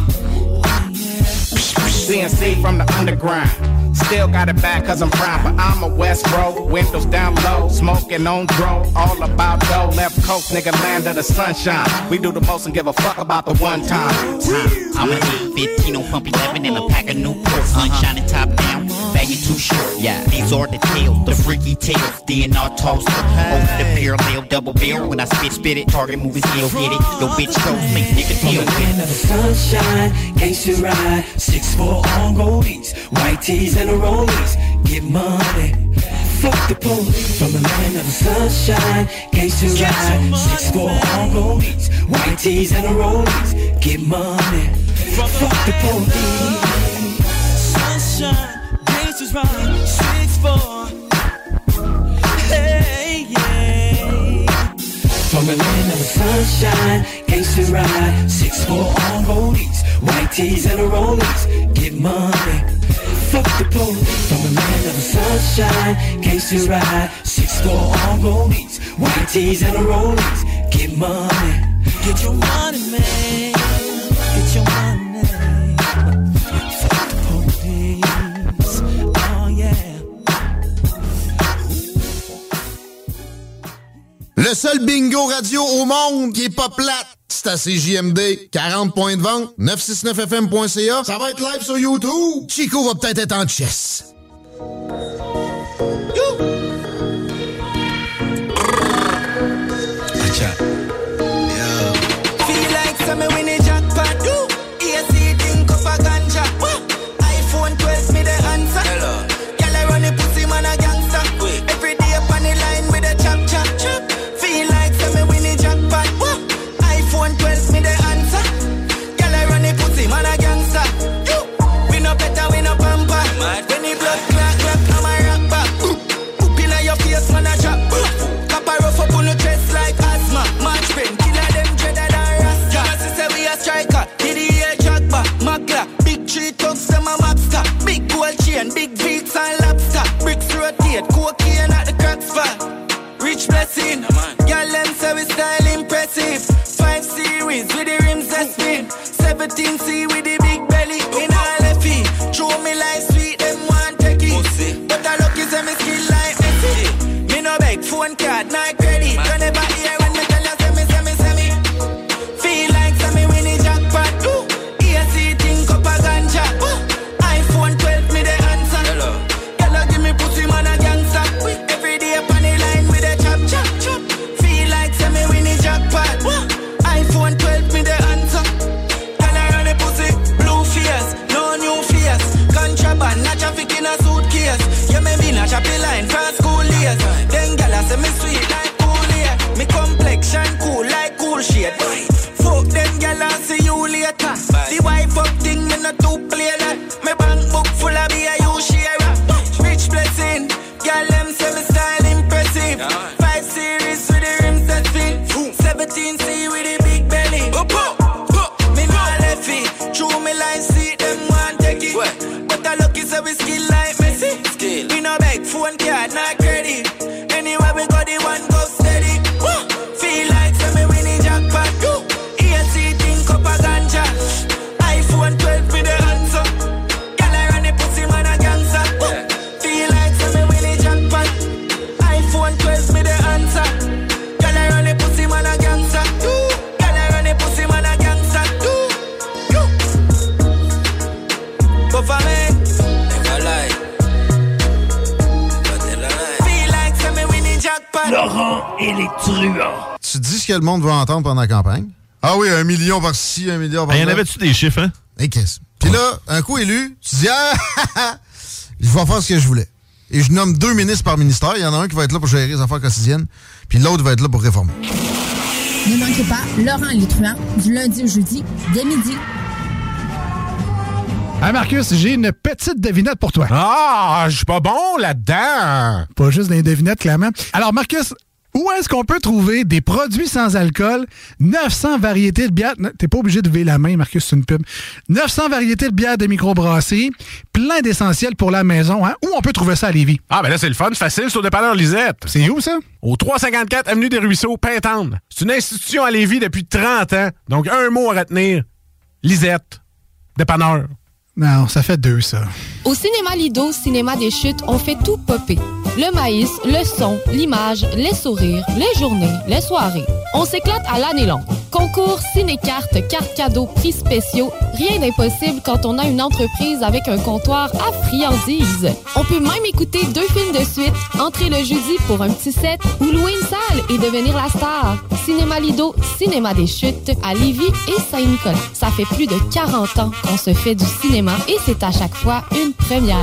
C N C from the underground. Still got it back cause I'm proud, but I'm a West bro. Windows down low, smoking on dro. All about dough, left coast, nigga, land of the sunshine. We do the most and give a fuck about the one time. time. I'm a eight fifteen on pump eleven and a pack of Newport. Sunshine and top down, baggy too short. Yeah, these are the tales, the freaky tales. D N R toaster, over the parallel, double barrel. When I spit, spit it, target movies, he'll hit it. Yo, bitch, toast me, nigga, deal. From the land of the sunshine, gangsta ride, six four on goldies, white tees and a rollies, get money. Fuck the police. From the land of the sunshine, gangsta ride, six four on goldies, white tees and a rollies, get money. Fuck the police. Sunshine, gangsters ride, six four. Hey, yeah. From the land of the sunshine, gangsta ride, six four on goldies, white tees and a rollies, get money. Fuck the police. From the land of the sunshine, gangsta ride, six four on goldies, white tees and a rollies, get money. Get your money, man. Get your money. Fuck the police. Oh yeah. Le seul bingo radio au monde qui est pas plate, c'est à C J M D. quarante points de vente, neuf cent soixante-neuf F M point C A. Ça va être live sur YouTube. Chico va peut-être être en chess. Feel like some winning jackpot. A C think of a ganja. iPhone twelve me the answer. Girl I run a pussy man a gangster. Every day up on the line with a chop chop chop. Feel like some winning jackpot. iPhone twelve me the answer. Girl I run a pussy man a gangster. We no better we no pamper. When the blood clot clot I'm a rock back. Poop in your face man a drop. Copper rough up on the chest like asthma. March pen killer them dreader than Rasta. Cause say we a striker. Did the air jack back. Magla. Big tree tugs them a mobster. Big gold chain. Big beats and lobster. Bricks rotate. Cocaine at the crack spot. Rich blessing. Girl them say we style impressive. Five series with the rims that spin. Seventeen C with the big belly. In all F E. Show me like sweet them want take it. But I lucky say me skill like Messi. Me no beg phone card, not credit. You never hear when me tell you say me, say me, say me. Feel like say me winning jackpot. Ooh. A C think up a ganja. Ooh. iPhone twelve me the answer. Hello, give me pussy man a gangster. Every day up on the line with a chop chop chop. Feel like say me winning jackpot. Ooh. iPhone twelve me the answer. Girl I run a pussy, blue face, no new face. Contraband, not traffic in a suitcase. Yeah, me be not choppy line from school years. Then girl I say me sweet like cool here. Me complexion cool like cool shade. Fuck them girl I see you later. The wife up thing me not too play that. Me bank book full of be a you share. Rich blessing, girl them say me style impressive. Five series with the rims that spin. Seventeen C with the big belly. Me no left it. True me like see them want take it. But I lucky say we skill like Messi. We no beg phone card, not credit. Anywhere we go the one go steady. Feel like say me winning jackpot. A C think up a ganja. iPhone twelve me the answer. Girl I run a pussy man a gangster. Feel like say me winning jackpot. iPhone twelve me the answer. Girl I run a pussy man a gangster. Girl I run a pussy man a gangster. But for me, never lie. et les truands. Tu dis ce que le monde veut entendre pendant la campagne? Ah oui, un million par-ci, un million par-là. Il y en avait-tu des chiffres, hein? Et qu'est-ce? Puis là, un coup élu, tu dis, ah, je vais faire ce que je voulais. Et je nomme deux ministres par ministère. Il y en a un qui va être là pour gérer les affaires quotidiennes, puis l'autre va être là pour réformer. Ne manquez pas Laurent et les truands, du lundi au jeudi, dès midi. Hey Marcus, j'ai une petite devinette pour toi. Ah, je suis pas bon là-dedans. Pas juste des devinettes, clairement. Alors Marcus, où est-ce qu'on peut trouver des produits sans alcool, neuf cents variétés de bières, t'es pas obligé de lever la main, Marcus, c'est une pub, neuf cents variétés de bières de microbrasserie, plein d'essentiels pour la maison, hein? Où on peut trouver ça à Lévis? Ah, ben là, c'est le fun, c'est facile, c'est au dépanneur Lisette. C'est où, ça? Au trois cent cinquante-quatre Avenue des Ruisseaux, Pintendre. C'est une institution à Lévis depuis trente ans, donc un mot à retenir, Lisette, dépanneur. Non, ça fait deux, ça. Au Cinéma Lido, Cinéma des Chutes, on fait tout popper. Le maïs, le son, l'image, les sourires, les journées, les soirées. On s'éclate à l'année longue. Concours, ciné-cartes, cartes cadeaux, prix spéciaux. Rien d'impossible quand on a une entreprise avec un comptoir à friandises. On peut même écouter deux films de suite, entrer le jeudi pour un petit set ou louer une salle et devenir la star. Cinéma Lido, Cinéma des Chutes, à Lévis et Saint-Nicolas. Ça fait plus de quarante ans qu'on se fait du cinéma et c'est à chaque fois une première.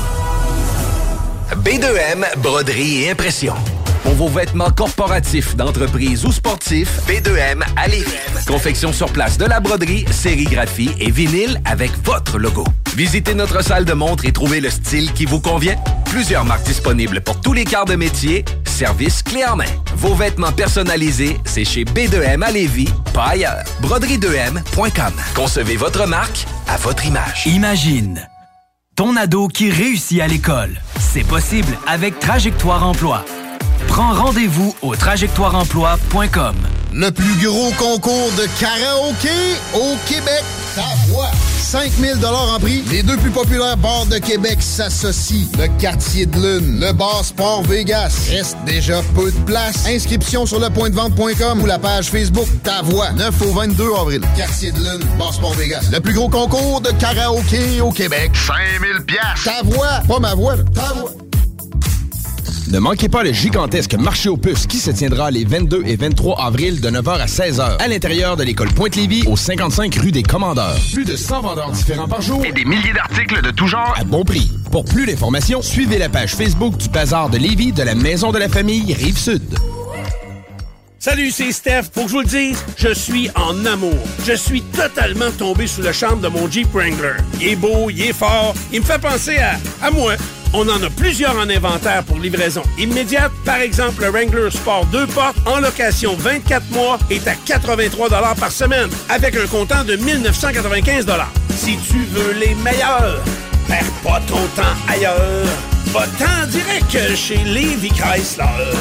B deux M, broderie et impression. Pour vos vêtements corporatifs, d'entreprise ou sportifs, B deux M à Lévis. Confection sur place de la broderie, sérigraphie et vinyle avec votre logo. Visitez notre salle de montre et trouvez le style qui vous convient. Plusieurs marques disponibles pour tous les quarts de métier. Service clé en main. Vos vêtements personnalisés, c'est chez B deux M à Lévis, pas ailleurs. broderie deux M point com. Concevez votre marque à votre image. Imagine ton ado qui réussit à l'école. C'est possible avec Trajectoire Emploi. Prends rendez-vous au trajectoire emploi point com. Le plus gros concours de karaoké au Québec. Ta voix. cinq mille dollars en prix. Les deux plus populaires bars de Québec s'associent. Le Quartier de Lune, le bar Sport Vegas. Reste déjà peu de place. Inscription sur le point de vente point com ou la page Facebook Ta Voix. neuf au vingt-deux avril. Quartier de Lune, bar Sport Vegas. Le plus gros concours de karaoké au Québec. cinq mille piastres. Ta voix. Pas ma voix, là. Ta voix. Ne manquez pas le gigantesque marché aux puces qui se tiendra les vingt-deux et vingt-trois avril de neuf heures à seize heures à l'intérieur de l'école Pointe-Lévis au cinquante-cinq rue des Commandeurs. Plus de cent vendeurs différents par jour et des milliers d'articles de tout genre à bon prix. Pour plus d'informations, suivez la page Facebook du Bazar de Lévis de la Maison de la Famille Rive-Sud. Salut, c'est Steph. Pour que je vous le dise, je suis en amour. Je suis totalement tombé sous le charme de mon Jeep Wrangler. Il est beau, il est fort, il me fait penser à, à moi. On en a plusieurs en inventaire pour livraison immédiate. Par exemple, le Wrangler Sport deux portes en location vingt-quatre mois est à quatre-vingt-trois dollars par semaine avec un comptant de mille neuf cent quatre-vingt-quinze dollars. Si tu veux les meilleurs, perds pas ton temps ailleurs. Va-t'en direct chez Lévis Chrysler.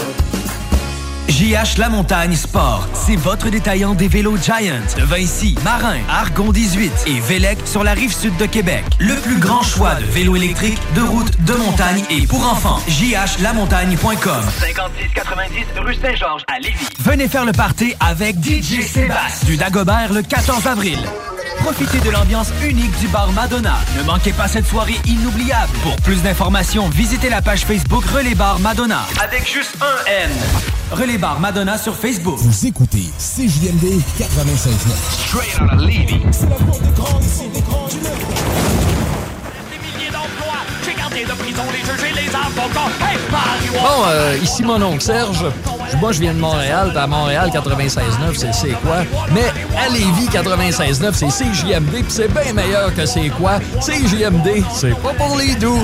J H La Montagne Sport, c'est votre détaillant des vélos Giant de Vinci, Marin, Argon dix-huit et Vélec sur la rive sud de Québec. Le plus grand choix de vélos électriques, de route, de montagne et pour enfants. J H la montagne point com. cinquante-six quatre-vingt-dix rue Saint-Georges à Lévis. Venez faire le party avec D J Sébastien du Dagobert le quatorze avril. Profitez de l'ambiance unique du bar Madonna. Ne manquez pas cette soirée inoubliable. Pour plus d'informations, visitez la page Facebook Relais Bar Madonna. Avec juste un N. Relais Bar Madonna sur Facebook. Vous écoutez C J M D quatre-vingt-seize neuf. Straight out of Lévis. C'est la porte de grande ici, des grands du Nord. Des milliers d'emplois, j'ai gardé de prison les juges et les avocats. Hey, Mario! Bon, euh, ici mon oncle Serge. Moi, je viens de Montréal, puis à Montréal, quatre-vingt-seize neuf, c'est c'est quoi? Mais à Lévis, quatre-vingt-seize neuf, c'est C J M D, puis c'est bien meilleur que c'est quoi? C J M D, c'est pas pour les doux.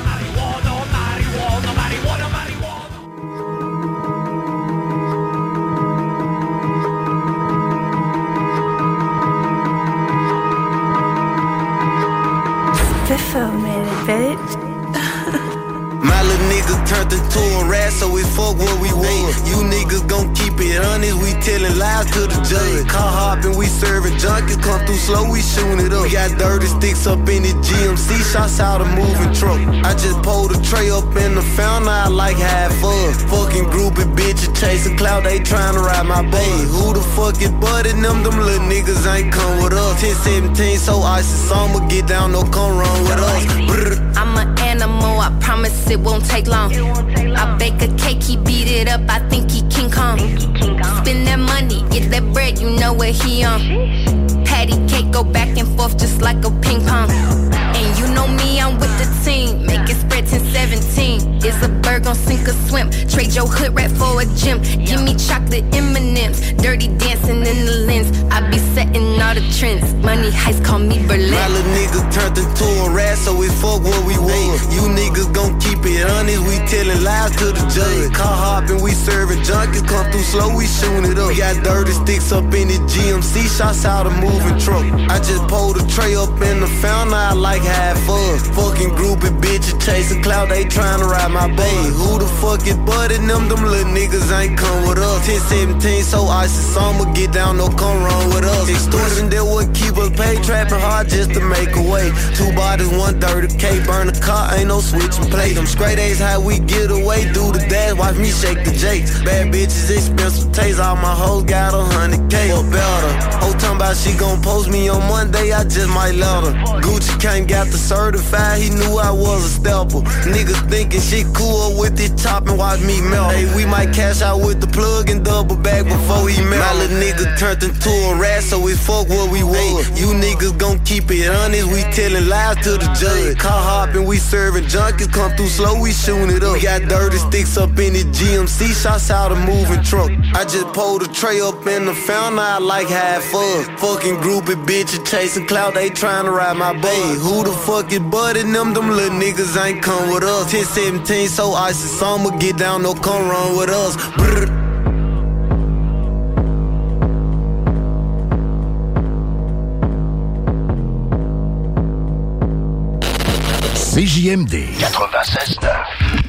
My little niggas turned into a rat, so we fuck what we want. You niggas gon' keep it honest, we telling lies to the judge. Car hopping, we serving junkies, come through slow, we shooting it up. We got dirty sticks up in the G M C, shots out a moving truck. I just pulled a tray up in the fountain, I like half fuck. Fucking groupie bitches chasing clout, they tryna ride my baby. Who the fuck is budding them? Them little niggas ain't come with us. ten seventeen, so icy summer, get down, no come wrong with us. Brr. I'm an animal, I promise it won't take long. I bake a cake, he beat it up, I think he king what he on. Patty cake go back and forth just like a ping pong. And you know me, I'm with the team. Make it spread ten seventeen. Is a bird gon' sink or swim? Trade your hood rat for a gym. Give me chocolate M and M's. Dirty dancing in the lens. I be setting all the trends. Money heist call me Berlin. My little niggas turned into a rat, so we fuck what we want. You niggas gon' keep it honest. We telling lies to the judge. Car hopping, we serving junkies. Come through slow, we shooting it up. We got dirty sticks up in the G M C. Shots out a moving truck. I just pulled a tray up in the fountain. I like half fun. Fucking groupie bitches chasing clout. They trying to ride my bay. Who the fuck is budding them? Them little niggas ain't come with us. ten seventeen, so icy summer. Get down, no come wrong with us. Extortion, that would keep us paid. Trapping hard just to make a way. Two bodies, one thirty K. Burn a car, ain't no switching play. Them straight A's, how we get away. Do the dash, watch me shake the Jakes. Bad bitches, expensive taste. All my hoes got a hundred K or better. Whole talking about she gon' post me on Monday, I just might let her. Gucci came, got the certified, he knew I was a stepper. Niggas thinking she cool with this top and watch me melt. Hey, we might cash out with the plug and double back before he melt. My little nigga turned into a rat, so we fuck what we want. You niggas gon' keep it honest, we telling lies to the judge. Car hopping, we serving junkies, come through slow, we shooting it up. We got dirty sticks up in the G M C, shots out a moving truck. I just pulled a tray up in the fountain, I like half fun. Fucking groupie bitches chasing clout, they trying to ride my bay. Who the fuck is budding them? Them little niggas ain't come with us. ten seventeen, so icy summer, get down, no come wrong with us. Brr. C J M D quatre-vingt-seize neuf.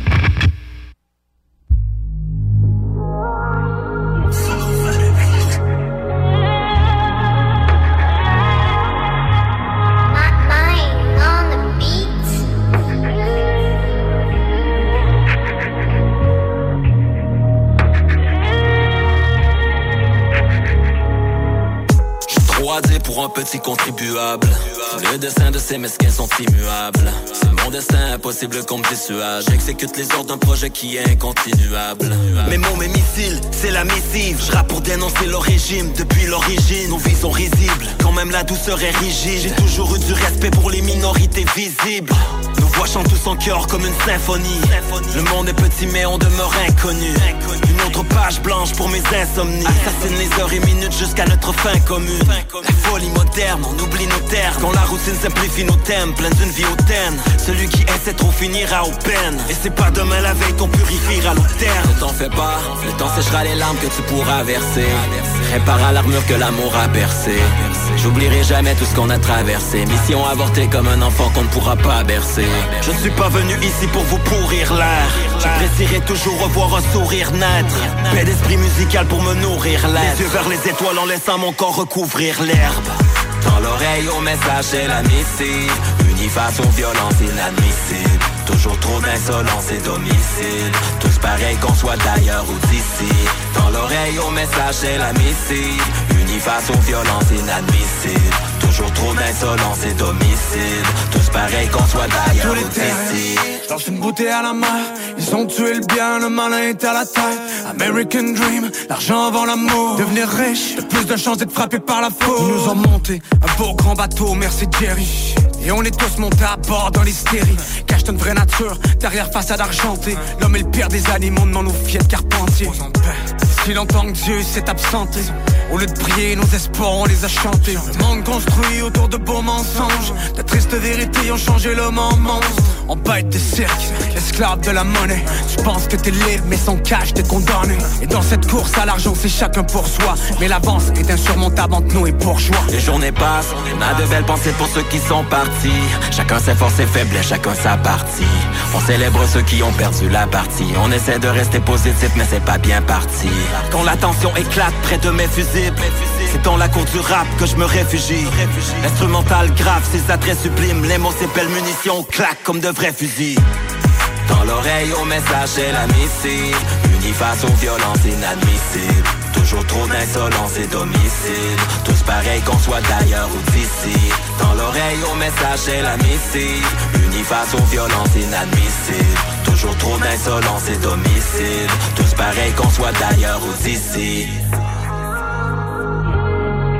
Pour un petit contribuable, le destin de ces mesquins sont immuables. C'est mon destin impossible qu'on me dissuade. J'exécute les ordres d'un projet qui est incontinuable. Mes mots, mes missiles, c'est la missive. Je rappe pour dénoncer le régime depuis l'origine. Nos vies sont risibles, quand même la douceur est rigide. J'ai toujours eu du respect pour les minorités visibles. Nos voix chantent tous en chœur comme une symphonie. Le monde est petit mais on demeure inconnu. Une autre page blanche pour mes insomnies. Assassine les heures et minutes jusqu'à notre fin commune. La folie moderne, on oublie nos termes. Quand la routine simplifie nos thèmes, pleine d'une vie hautaine. Celui qui essaie trop finira aux peines. Et c'est pas demain la veille qu'on purifiera l'eau terre. Ne t'en fais pas, le temps séchera les larmes que tu pourras verser. Répara l'armure que l'amour a percée. J'oublierai jamais tout ce qu'on a traversé. Mission avortée comme un enfant qu'on ne pourra pas bercer. Je ne suis pas venu ici pour vous pourrir l'air. J'apprécierais toujours revoir un sourire naître. Paix d'esprit musical pour me nourrir l'air. Les yeux vers les étoiles en laissant mon corps recouvrir l'herbe. Dans l'oreille au message c'est la missive. Unis face aux violences inadmissibles. Toujours trop d'insolence et d'homicide. Tous pareils qu'on soit d'ailleurs ou d'ici. Dans l'oreille au message c'est la missive. Unis face aux violences inadmissibles. Toujours trop d'insolence et d'homicide. Tous pareils qu'on soit d'ailleurs ou d'ici. Lance une bouteille à la main. Ils ont tué le bien, le malin est à la taille. American Dream, l'argent avant l'amour. Devenir riche, de plus de chances d'être frappé par la faute. Ils nous ont monté un beau grand bateau, merci Jerry. Et on est tous montés à bord dans l'hystérie. Cache une vraie nature, derrière façade argentée. L'homme est le pire des animaux, demande aux filles de Carpentier. Si longtemps que Dieu s'est absenté, au lieu de prier, nos espoirs on les a chantés. Le monde construit autour de beaux mensonges. De tristes vérités ont changé l'homme en monstre. On bête des cirques, esclave de la monnaie. Tu penses que t'es libre mais sans cash t'es condamné. Et dans cette course à l'argent c'est chacun pour soi. Mais l'avance est insurmontable entre nous et bourgeois. Les journées passent, on a de belles pensées pour ceux qui sont partis. Chacun ses forces et faiblesses, chacun sa partie. On célèbre ceux qui ont perdu la partie. On essaie de rester positif mais c'est pas bien parti. Quand la tension éclate près de mes fusibles, c'est dans la cour du rap que je me réfugie. L'instrumental grave, ses attraits sublimes. Les mots, c'est belles munitions, claquent comme de vrais fusils. Dans l'oreille au message c'est la missive. Unis face aux violences inadmissibles. Toujours trop d'insolence et d'homicide. Tous pareils qu'on soit d'ailleurs ou d'ici. Dans l'oreille au message c'est la missive. Unis face aux violences inadmissibles. Toujours trop d'insolence et d'homicide. Tous pareils qu'on soit d'ailleurs ou d'ici.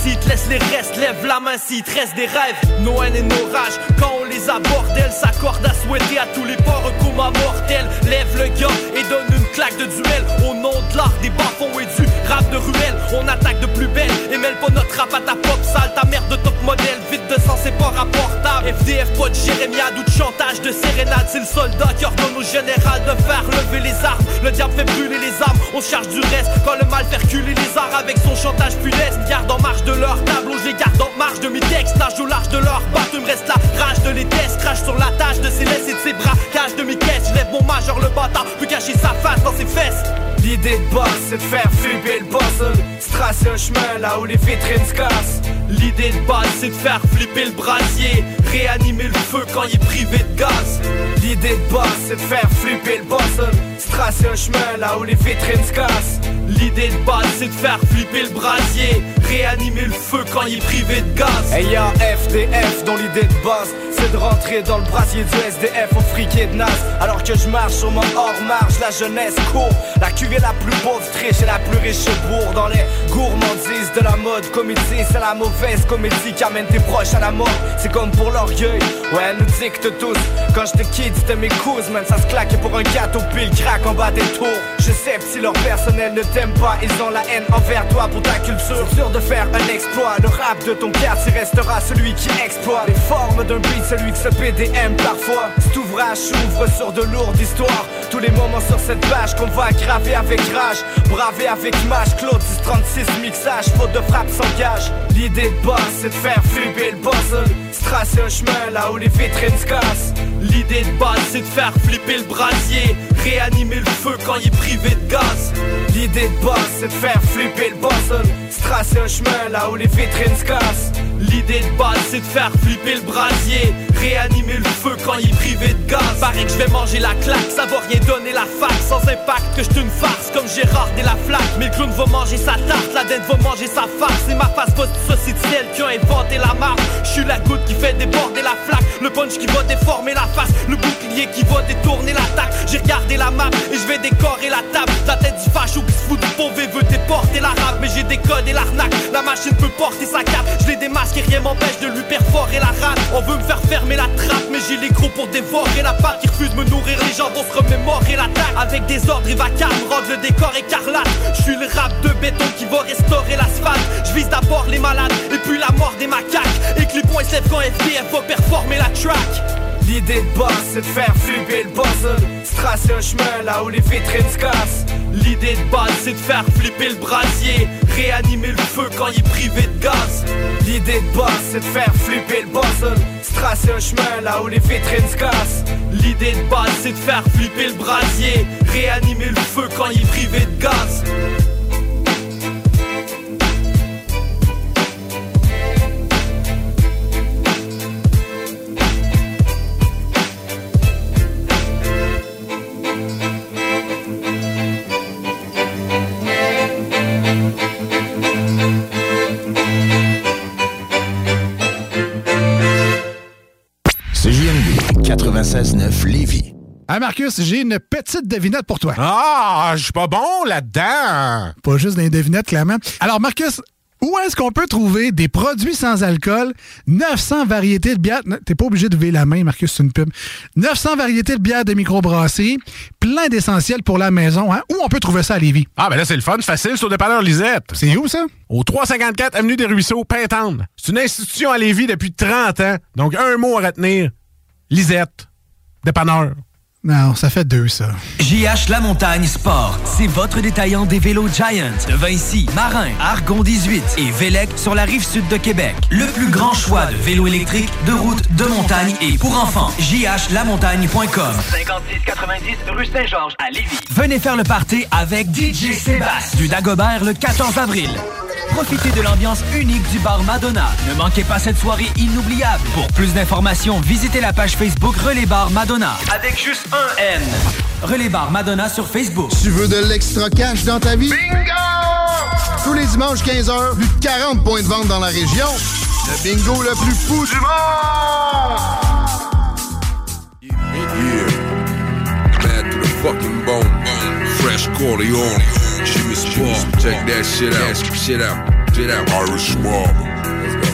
s'il te laisse les restes, lève la main s'il te reste des rêves. Nos haines et nos rages, quand on les aborde, elles s'accordent à souhaiter à tous les porcs coma mortels. Lève le gars et donne une claque de duel. Au nom de l'art des bas-fonds et du rap de ruelle, on attaque de plus belle et mêle pas notre rap à ta pop sale. Ta merde de top modèle, vide de sang c'est pas rapportable. F D F pas de jérémiade ou de chantage de sérénade. C'est le soldat qui ordonne au général de faire lever les armes. Le diable fait brûler les armes, on se charge du reste. Quand le mal fait reculer les arts avec son chantage funeste. Garde en marge de leur tableau, je les garde en marge de mes textes. Nage au large de leur bateau, il me reste la rage de les tests. Crache sur la tâche de ses laisses et de ses bras. Cage de mes caisses, je lève mon majeur, le bâtard peut cacher sa face dans ses fesses. L'idée de base c'est de faire flipper le puzzle, se tracer un chemin là où les vitrines se cassent. L'idée de base c'est de faire flipper le brasier, réanimer le feu quand il est privé de gaz. L'idée de base c'est de faire flipper le puzzle, se tracer un chemin là où les vitrines se cassent. L'idée de base c'est de faire flipper le brasier, réanimer le feu quand il est privé de gaz. Et y'a F D F dont l'idée de base c'est de rentrer dans le brasier du S D F au friquet de naze. Alors que je marche sur mon hors-marge, la jeunesse court. La cuvée la plus pauvre triche et la plus riche bourre. Dans les gourmandises de la mode comédie, c'est la mauvaise comédie qui amène tes proches à la mort. C'est comme pour l'orgueil, ouais elle nous dicte tous. Quand j'étais kid c'était mes cousins, man ça se claquait pour un gâteau pile crack en bas des tours. Je sais si leur personnel ne t'aime pas, ils ont la haine envers toi pour ta culture. C'est sûr de faire un exploit, le rap de ton quartier restera celui qui exploite les formes d'un beat, celui que ce P D M parfois. Cet ouvrage s'ouvre sur de lourdes histoires, tous les moments sur cette page qu'on va graver avec rage, braver avec mâche. Claude dix trente-six mixage, faute de frappe s'engage. L'idée de base c'est de faire flipper le puzzle, se tracer un chemin là où les vitrines se cassent. L'idée de base c'est de faire flipper le brasier, réanimer le feu quand il est privé de gaz. L'idée de base c'est de faire flipper le puzzle, se tracer un chemin là où les vitrines se cassent. L'idée de base c'est de faire flipper le brasier, réanimer le feu quand il est privé de gaz. Paraît que je vais manger la claque, ça va rien donner la fac. Sans impact que je une farce comme Gérard et la flaque. Mais le clown va manger sa tarte, la dinde va manger sa farce. C'est ma face poste, ça c'est celle qui a inventé la marque. Je suis la goutte qui fait déborder la flaque, le punch qui va déformer la face, le bouclier qui va détourner l'attaque. J'ai regardé la map et je vais décorer la table. La tête du facho qui se fout du pauvre et veut déporter l'arabe. Mais j'ai décodé l'arnaque, la machine peut porter sa cape. Je l'ai démasqué, rien m'empêche de lui perforer la rate. On veut me faire fermer la trappe, mais j'ai les gros pour dévorer la pâte. Qui refuse de me nourrir, les gens vont se remémorer l'attaque. Avec des ordres, il va calme, rendre le décor écarlate. Je suis le rap de béton qui va restaurer l'asphalte. Je vise d'abord les malades et puis la mort des macaques. Et que les points se lèvent quand F D F va performer la track. L'idée de base c'est de faire flipper le puzzle, se tracer un chemin là où les vitrines se cassent. L'idée de base c'est de faire flipper le brasier, réanimer le feu quand il est privé de gaz. L'idée de base c'est de faire flipper le puzzle, se tracer un chemin là où les vitrines se cassent. L'idée de base c'est de faire flipper le brasier, réanimer le feu quand il est privé de gaz. quatre-vingt-seize neuf Lévis. Ah Marcus, j'ai une petite devinette pour toi. Ah, je suis pas bon là-dedans. Pas juste des devinettes, clairement. Alors Marcus, où est-ce qu'on peut trouver des produits sans alcool, neuf cents variétés de bières, t'es pas obligé de lever la main, Marcus, c'est une pub, neuf cents variétés de bières de microbrasserie, plein d'essentiels pour la maison, hein? Où on peut trouver ça à Lévis? Ah ben là, c'est le fun, c'est facile, c'est au dépanneur Lisette. C'est où ça? Au trois cent cinquante-quatre Avenue des Ruisseaux, Pintendre. C'est une institution à Lévis depuis trente ans, donc un mot à retenir, Lisette, dépanneur. Non, ça fait deux, ça. J H La Montagne Sport, c'est votre détaillant des vélos Giant de Vinci, Marin, Argon dix-huit et Vélec sur la rive sud de Québec. Le plus grand choix de vélos électriques, de route, de montagne et pour enfants. J H la montagne point com. cinquante-six quatre-vingt-dix rue Saint-Georges à Lévis. Venez faire le party avec D J Sébastien du Dagobert le quatorze avril. Profitez de l'ambiance unique du bar Madonna. Ne manquez pas cette soirée inoubliable. Pour plus d'informations, visitez la page Facebook Relais Bar Madonna. Avec juste un N. Relais Bar Madonna sur Facebook. Tu veux de l'extra cash dans ta vie? Bingo! Tous les dimanches quinze heures, plus de quarante points de vente dans la région. Le bingo le plus fou du monde! Yeah. Mad to the fucking bone. Fresh Corleone. Jimmy Sport. Check that shit out. Shit out. Straight out Irish mob. Let's go.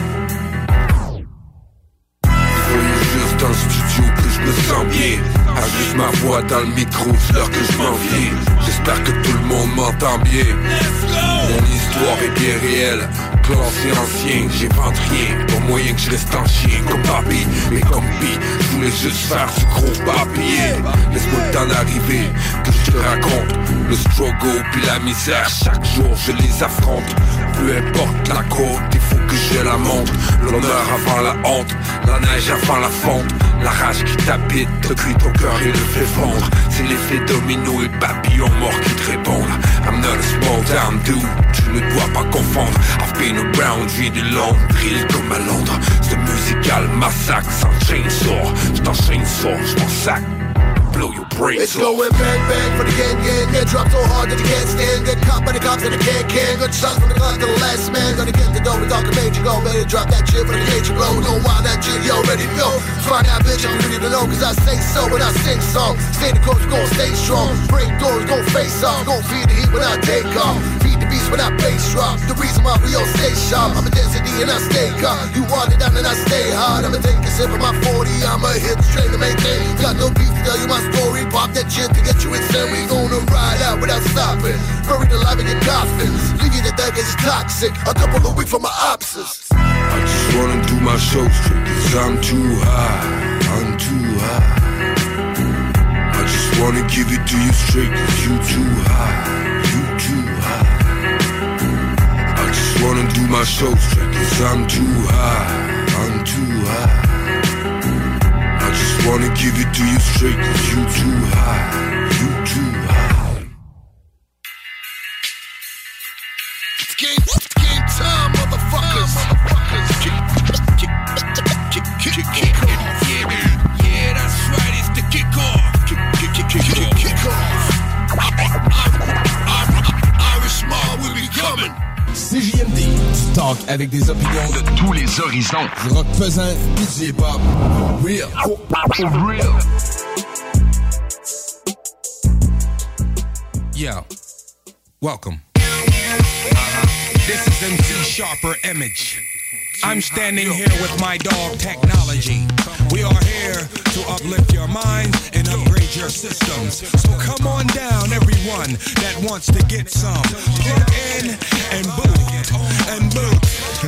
Soyez juste dans le studio que je me sens bien. Ajuste ma voix dans le micro, c'est l'heure que je m'en viens. J'espère que tout le monde m'entend bien. Mon histoire est bien réelle, classé ancien, j'invente rien. Pas moyen que je reste en chien comme papi, mais comme pis, je voulais juste faire du gros papier. Laisse-moi le temps d'arriver, que je te raconte le struggle puis la misère, chaque jour je les affronte. Peu importe la côte, il faut que je la monte. L'honneur avant la honte, la neige avant la fonte. La rage qui t'habite, te cuit ton cœur et le fait fondre. C'est l'effet domino et papillon mort qui te répondent. I'm not a small town dude, tu ne dois pas confondre. I've been around, j'ai du long drill comme à Londres. Ce musical massacre sans chainsaw. J't'enchaîne sort, j't'en sac. Blow your brains It's going bang bang for the gang gang. Get dropped so hard that you can't stand. Get caught by the cops and the can can. Good shots from the gun to the last man. Gonna get the dough with Doctor Major. Go better drop that shit for the cage you blow. Know why that shit you already know. Find out bitch I'm ready to know. Cause I say so when I sing song. Stay the course, gon' stay strong. Break doors, gon' face off. Gon' feed the heat when I take off. Feed the beast when I bass drop. The reason why we all stay sharp. I'm a density and I stay calm. You want it down and I stay hard. I'ma take a sip of my forty. I'ma hit the train to maintain. Got no beef to tell you my story. Pop that shit to get you insane. We gonna ride out without stopping. Buried alive in your coffin. Leave you to death is toxic. A couple of weeks from my opposites. I just wanna do my show straight, cause I'm too high, I'm too high. I just wanna give it to you straight, cause you too high, you too high. I just wanna do my show straight, cause I'm too high, I'm too high. I just wanna give it to you straight, cause you too high, you too high. It's game, it's game time, motherfuckers. Motherfuckers. Kick, kick, kick, kick, kick, kick off. Yeah, yeah, that's right, it's the kick off. Kick, kick, kick, kick, kick, kick off. Irish mob will be coming. C J M D, du talk avec des opinions de tous les horizons. Du rock pesant et du hip-hop. Real. For real. Yo, welcome. Uh-huh. This is M C Sharper Image. I'm standing here with my dog Technology. We are here to uplift your minds and upgrade your systems. So come on down, everyone that wants to get some. Plug in and boot, and boot.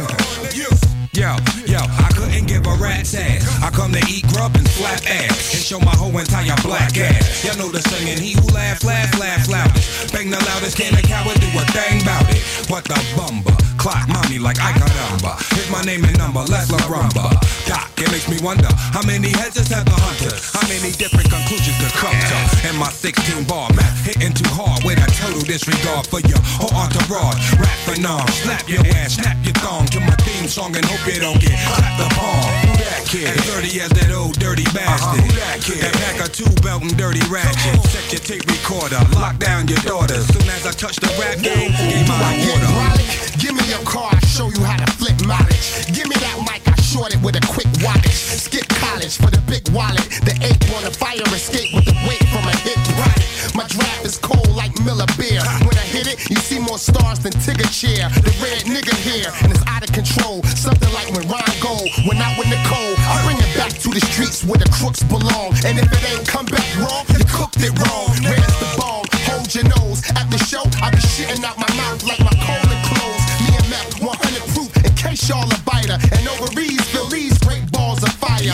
Yo, yo, I couldn't give a rat's ass. I come to eat grub and slap ass and show my whole entire black ass. Y'all know the saying, he who laughs, laughs, laughs loudest. Bang the loudest, can a coward do a thing about it? What the bumba? Clock mommy like I got number. Here's my name and number, let's la rumba. Doc, it makes me wonder, how many heads has had the hunter? How many different conclusions to come to? And my sixteen bar math hitting too hard with a total disregard for your whole entourage. Rap phenom, slap your ass, snap your thong to my theme song and hope you don't get clapped the palm. Who that kid? As dirty as that old dirty bastard. Who that kid? That pack of two belt and dirty ratchet. Set your tape recorder, lock down your daughter. Soon as I touch the rap game, give my water. Give me your car, I show you how to flip mileage. Give me that mic, I short it with a quick wattage. Skip college for the big wallet. The ape on a fire escape with the weight from a hit product. My draft is cold like Miller beer. When I hit it, you see more stars than Tigger chair. The red nigga here, and it's out of control. Something like when Ron Gold went out with Nicole. I bring it back to the streets where the crooks belong. And if it ain't come back wrong, you cooked it wrong. Where's the bomb? Hold your nose. At the show, I be shitting out my mouth like my colon closed. Me and Mac, one hundred proof in case y'all a biter. And ovaries, Phillies, great balls of fire.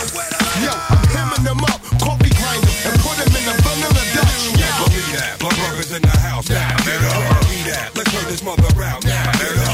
Yo, I'm hemming them up, coffee grind them, and put them in the vanilla Dutch. Yeah, believe that. Blood brothers in the house now. Believe that. Let's turn this mother out now.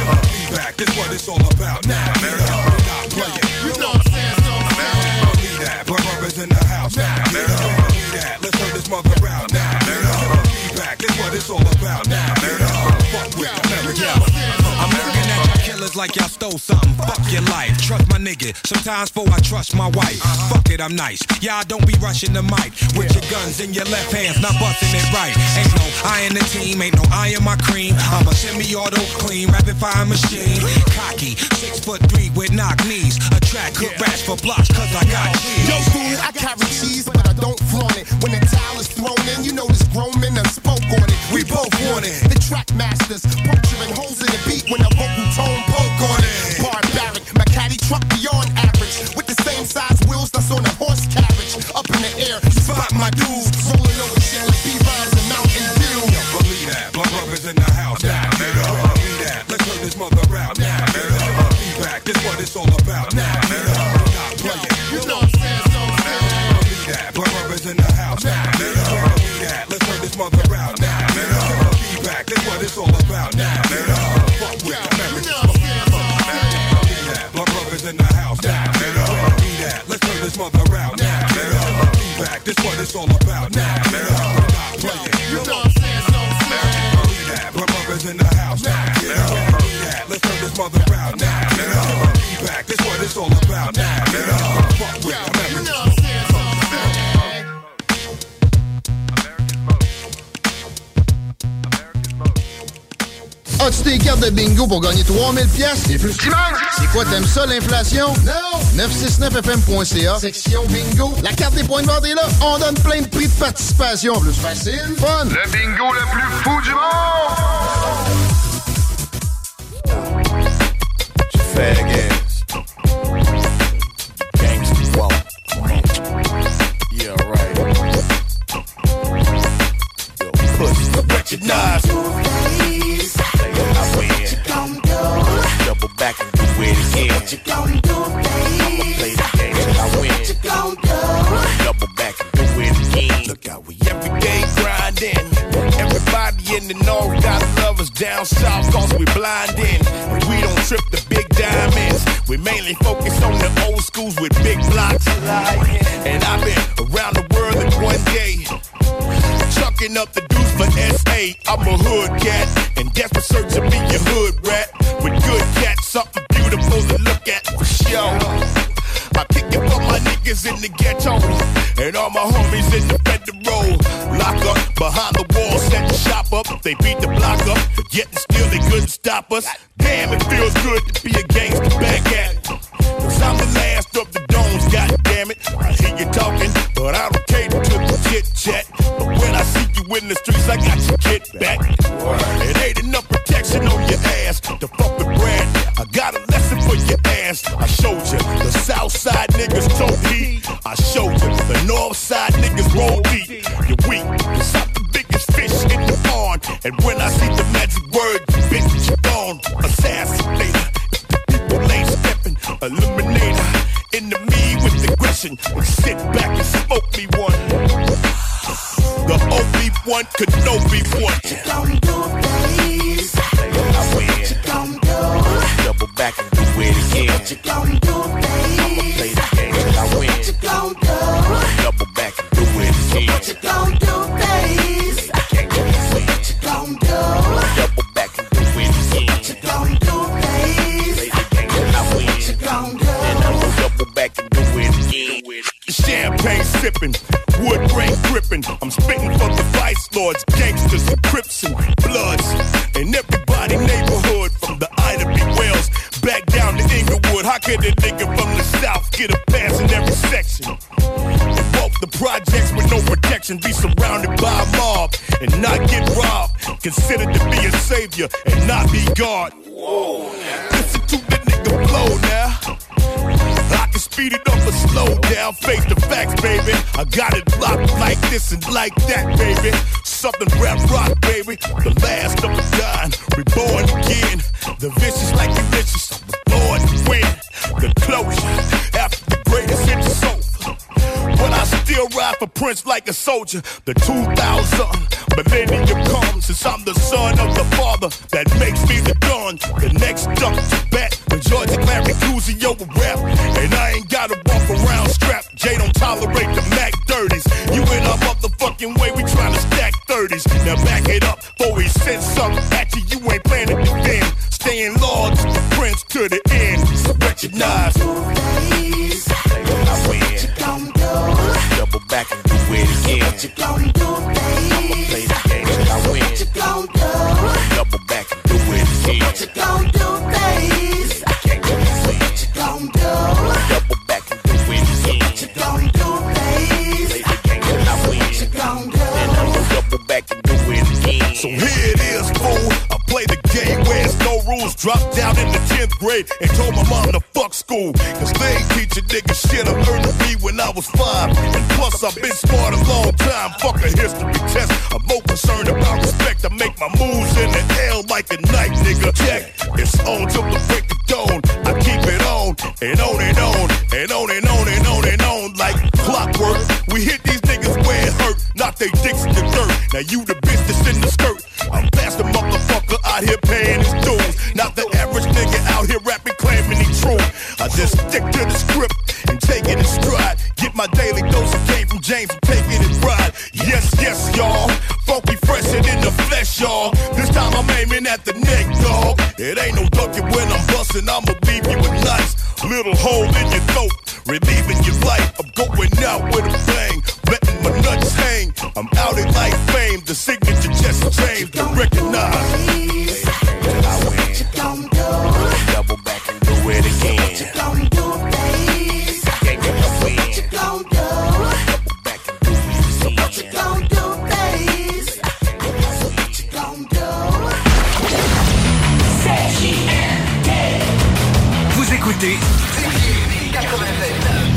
Be back. This what it's all about now. Not playing. You know what I'm saying? So I'm saying. Believe that. Blood brothers in the house now. Believe that. Let's turn this mother out now. Be back. This what it's all about now. Fuck with America. I'm looking at y'all killers like y'all stole something. Fuck your life. Trust my nigga. Sometimes before I trust my wife. Fuck it, I'm nice. Y'all don't be rushing the mic with your guns in your left hands, not busting it right. Ain't no I in the team, ain't no I in my cream. I'm a semi-auto clean, rapid fire machine. Cocky, six foot three with knock knees. A track cook rash for blocks cause I got cheese. Yo, fool, I carry cheese, but I don't flaunt it. When the towel is thrown in, you know this grown men done spoke on it. We both want it. The track masters, puncturing holes in the beat when the vocal tone what it's all about now. Nigga, fuck with American smoke. My brothers in the house now. Nigga, be that. Let's turn this mother around now. Nigga, be back. This what it's all about now. Nigga, stop playing. You know what I'm saying? So be that. My brothers in the house now. Nigga, be that. Let's turn this mother around now. Nigga, be back. This what it's all about now. Nigga, fuck with American smoke. As-tu tes cartes de bingo pour gagner trois mille piastres et plus? C'est quoi, t'aimes ça, l'inflation? Non! neuf cent soixante-neuf F M point C A, section bingo. La carte des points de vente est là. On donne plein de prix de participation. Plus facile, fun. Le bingo le plus fou du monde! Fag ass. Gangsta walk. Yeah, right. Yo, pussy, recognize. I win. Double back and do it again. What you gon' do, I'ma play the game till I win. What you gon' do? Double back and do it again. Look out, we every day grinding. Everybody in the north gotta love us down south, cause we blindin'. And we don't trip the big diamonds. We mainly focus on the old schools with big blocks. And I've been around the world in one day, chucking up the deuce for S A. I'm a hood cat, and desperate search to be your hood rat. With good cats, something beautiful to look at for sure. I kick it for my niggas in the ghetto, and all my homies in the federal. Lock up behind the wall, set the shop up. They beat the block up, but yet and still they couldn't stop us. Damn, it feels good to be a gangster back at it. Cause I'm the last of the domes, god damn it. I hear you talking, but I don't cater to the chit chat. But when I see you in the streets, I got your kid back. It ain't enough protection on your ass to fuck with Brad. I got a lesson for your ass. I showed you the south side niggas told heat. I showed you the north side niggas roll deep. You're weak, cause I'm the biggest fish in the pond. And when I see the magic word, you bitch, you're gone. Assassinator, people ain't stepping. Eliminator, enemy with aggression. And sit back and smoke me one. The O B one could no be one. What you gon' do, please? I win. What you gon' do? Double back and do it again. What you gon' do, please? I'ma play the game till I win. What you gon' do? Double back and do it again. What you gon' do, please? I can't go to sleep. What you gon' do? Double back and do it again. What you gon' do, please? Play the game till I win. What you gon' do? And I'ma double back and do it again. Champagne sipping, wood grain gripping. I'm spitting for the vice lords, gangsters and crips and bloods. And everybody neighborhood from the Ida B. Wells back down to Inglewood. How could a nigga from the south get a pass in every section? And walk the projects with no protection, be surrounded by a mob and not get robbed. Considered to be a savior and not be God. Whoa. Listen to the nigga flow now. I can speed it up or slow down, face the facts, baby. I got it locked like this and like that, baby. Southern rap rock, baby. The last of the dying, reborn again. The vicious like delicious, I'm born to win. The closure, after the greatest hit the soul. But I still ride for Prince like a soldier. The two thousand millennium comes, since I'm the son of the father that makes me the dawn. The next duck to bat, the Georgia Clary Cusio will rap. And I ain't gotta walk around strapped. Jay don't tolerate the Mac dirties. You in a motherfucking way, we tryna stack thirties. Now back it up, before we send something at you, you ain't planning to defend. Staying loyal to the Prince to the end. So recognize. I win. Double back and do it again. What you gon' do, babe? I'ma play the game till I win. What you gon' do? Double back and do it again. What you gon' do, babe? I can't go to sleep. What you gon' do? Double back and do it again. What you gon' do, babe? Play the game till I win. What you gon' do? And I'ma double back and do it again. So here it is, fool. I play the game where it's no rules. Dropped down in the tenth grade and told my mom to fuck school. Cause they ain't teach a nigga shit. I learned to read when I was five. And plus I've been smart a long time. Fuck a history test. I'm more concerned about respect. I make my moves in the L like a knife, nigga. Check. It's on till the break of dawn. I keep it on and on and on and on and on and on and on like clockwork. We hit these niggas where it hurt. Knock they dicks in the dirt. Now you the bitch that's in the skirt. I'm past the motherfucker. It ain't no ducking when I'm busting, I'ma leave you with nice little hole in your throat, relieving your life. I'm going out with a bang, letting my nuts hang. I'm out in life fame, the signature just changed to recognize. I win. Double back and do it again. What you gon' do, babe? Yeah, yeah, I win. What you gon' do? Double back and do it again. What you gon' do, babe? What you gon' do? C J M D. Vous écoutez quatre-vingt-neuf.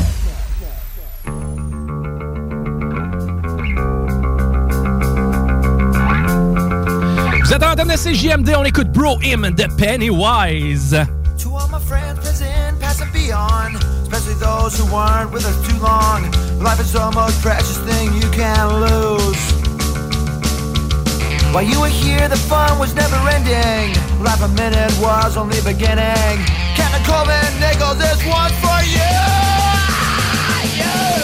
Vous êtes en train de C J M D, on écoute Bro Him de Pennywise. To all my friends present, past and beyond, especially those who weren't with us too long. Life is the most precious thing you can lose. While you were here, the fun was never ending. Life a minute was only beginning. Captain Colvin Nichols, this one's for you! Yeah!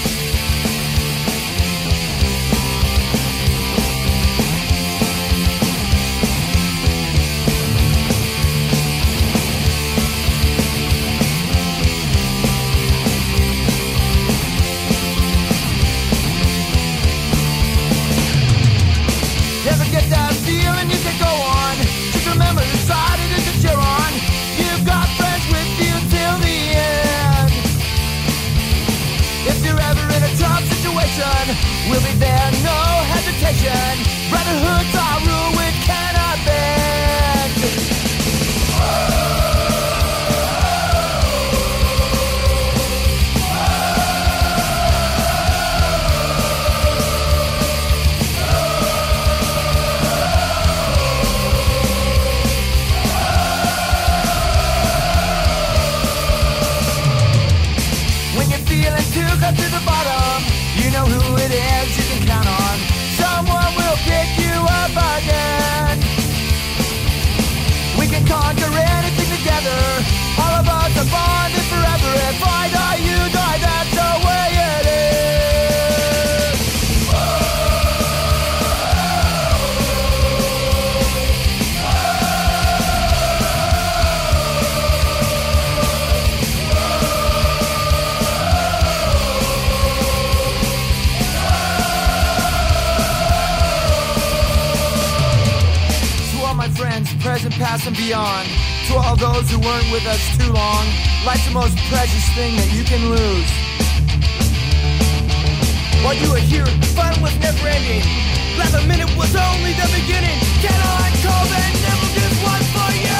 Never get that feeling you can go on. Just remember the side it is that you're on. You've got friends with you till the end. If you're ever in a tough situation, we'll be there, no hesitation. Brotherhood's our rule, we cannot bend. To cut to the bottom, you know who it is you can count on. Someone will pick you up again. We can conquer anything together. All of us are bonded forever. If I die, you die, that's the way it is. Friends, present, past, and beyond. To all those who weren't with us too long, life's the most precious thing that you can lose. While you were here, fun was never ending. Last a minute was only the beginning. Can I call that never this one for you?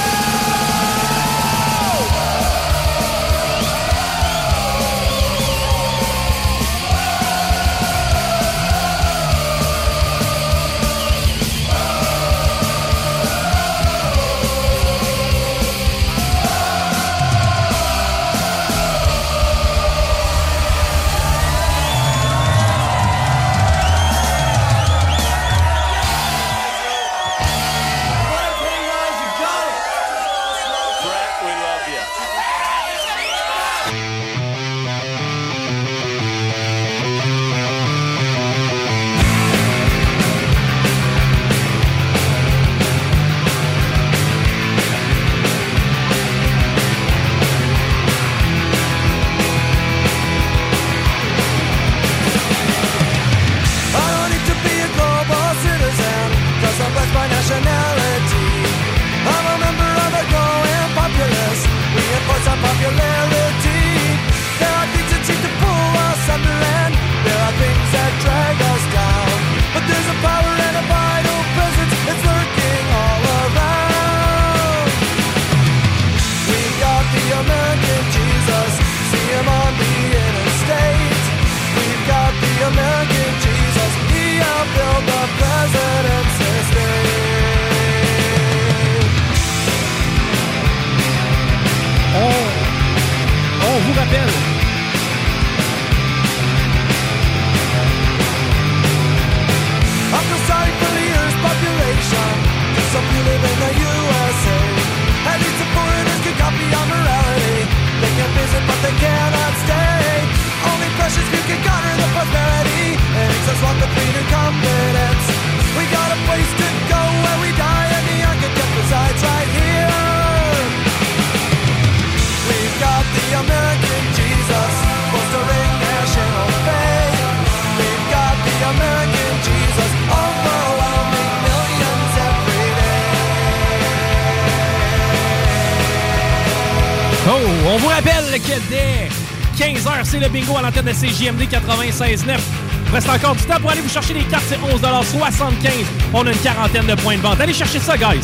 vous rappelle que dès quinze heures, c'est le bingo à l'antenne de C J M D quatre-vingt-seize neuf. Il reste encore du temps pour aller vous chercher les cartes, c'est onze soixante-quinze. On a une quarantaine de points de vente. Allez chercher ça, guys.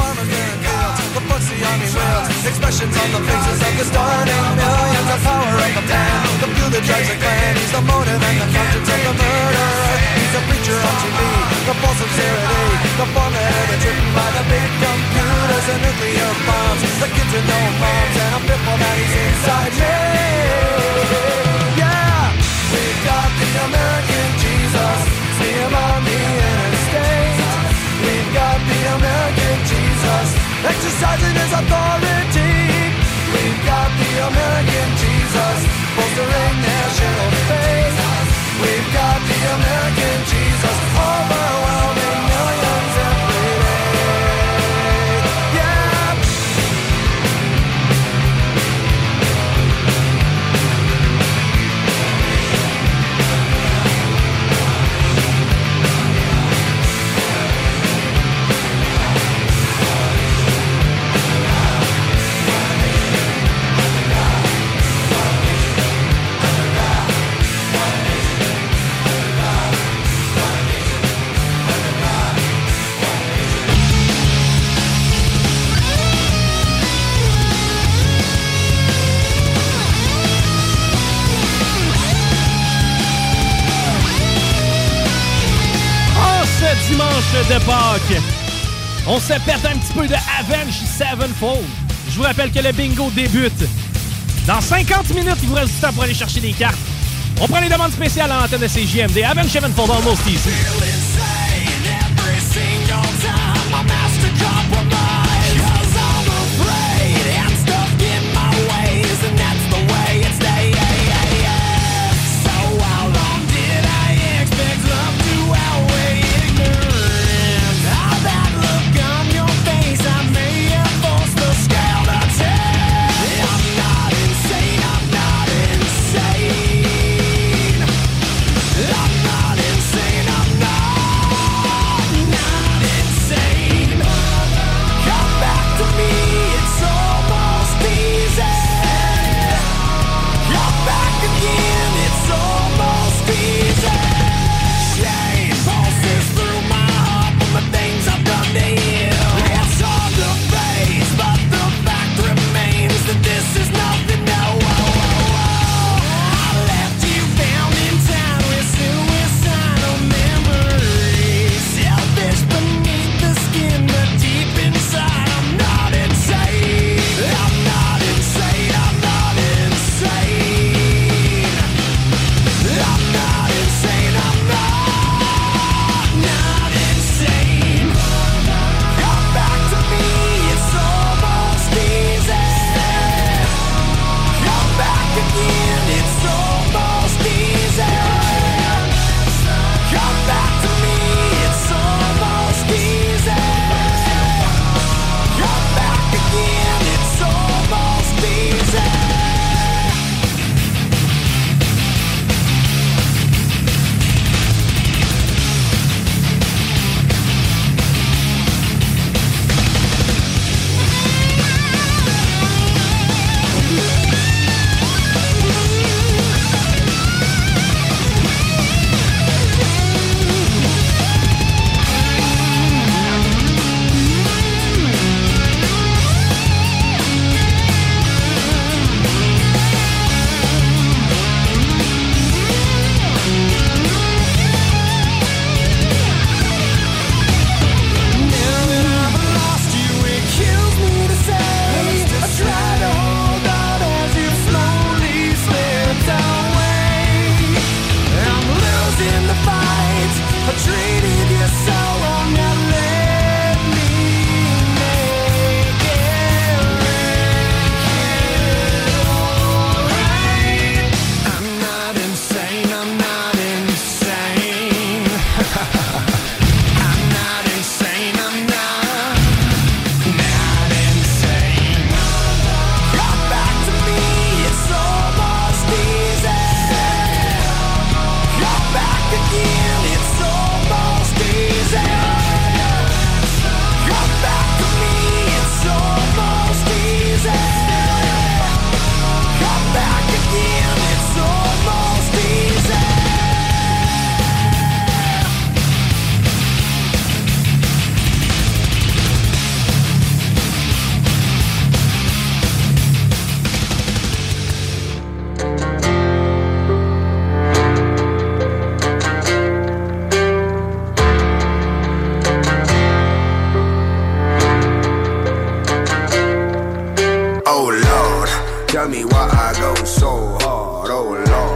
Expressions on the faces of the starting millions, the power of the man, the fuel that drives the clan. He's the motive and the conscience of the murder. He's a preacher on T V, the false sincerity, the formula that's written by the big computers and nuclear bombs. The kids with no moms, and I'm fearful that he's inside me. Yeah, we've got the American Jesus, see him on the interstate. We've got the American Jesus, exercising his authority. We've got the American Jesus, bolstering national faith. We've got the American Jesus, overwhelming millions every day. Yeah. Dimanche de Pâques, on se pète un petit peu de Avenged Sevenfold. Je vous rappelle que le bingo débute dans cinquante minutes. Il vous reste du temps pour aller chercher des cartes. On prend les demandes spéciales à l'antenne de C J M D. Avenged Sevenfold, Almost Easy. I'm not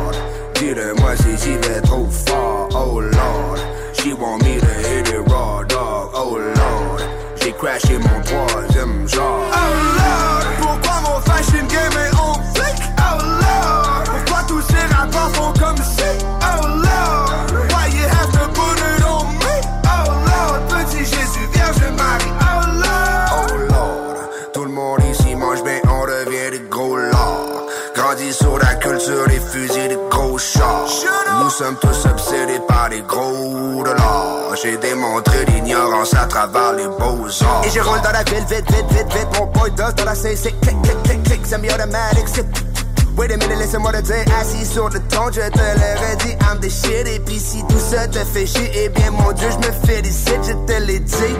Lord. Dis-le-moi si j'y vais trop fort, oh Lord. She want me to hit it raw, dog, oh Lord. J'ai crashé mon troisième genre. Oh Lord, pourquoi mon fashion game est on flic? Oh Lord, pourquoi tous ces rappeurs font comme si? Oh Lord, why you have to put it on me? Oh Lord, petit Jésus, Vierge Marie. Oh Lord, oh Lord, tout le monde ici mange bien, on devient des gros lords. Grandis sur la culture des fusils, des gros chars. Nous sommes tous obsédés par les gros dollars. J'ai démontré l'ignorance à travers les beaux-arts. Et je roule dans la ville, vite, vite, vite, vite. Mon boy does dans la C C, click, click, click, click. Semi-automatic, c'est... Wait a minute, laisse-moi te dire, assis sur le ton, je te l'aurais dit, I'm the shit. Et pis si tout ça te fait chier, eh bien mon Dieu, je me félicite, je te l'ai dit.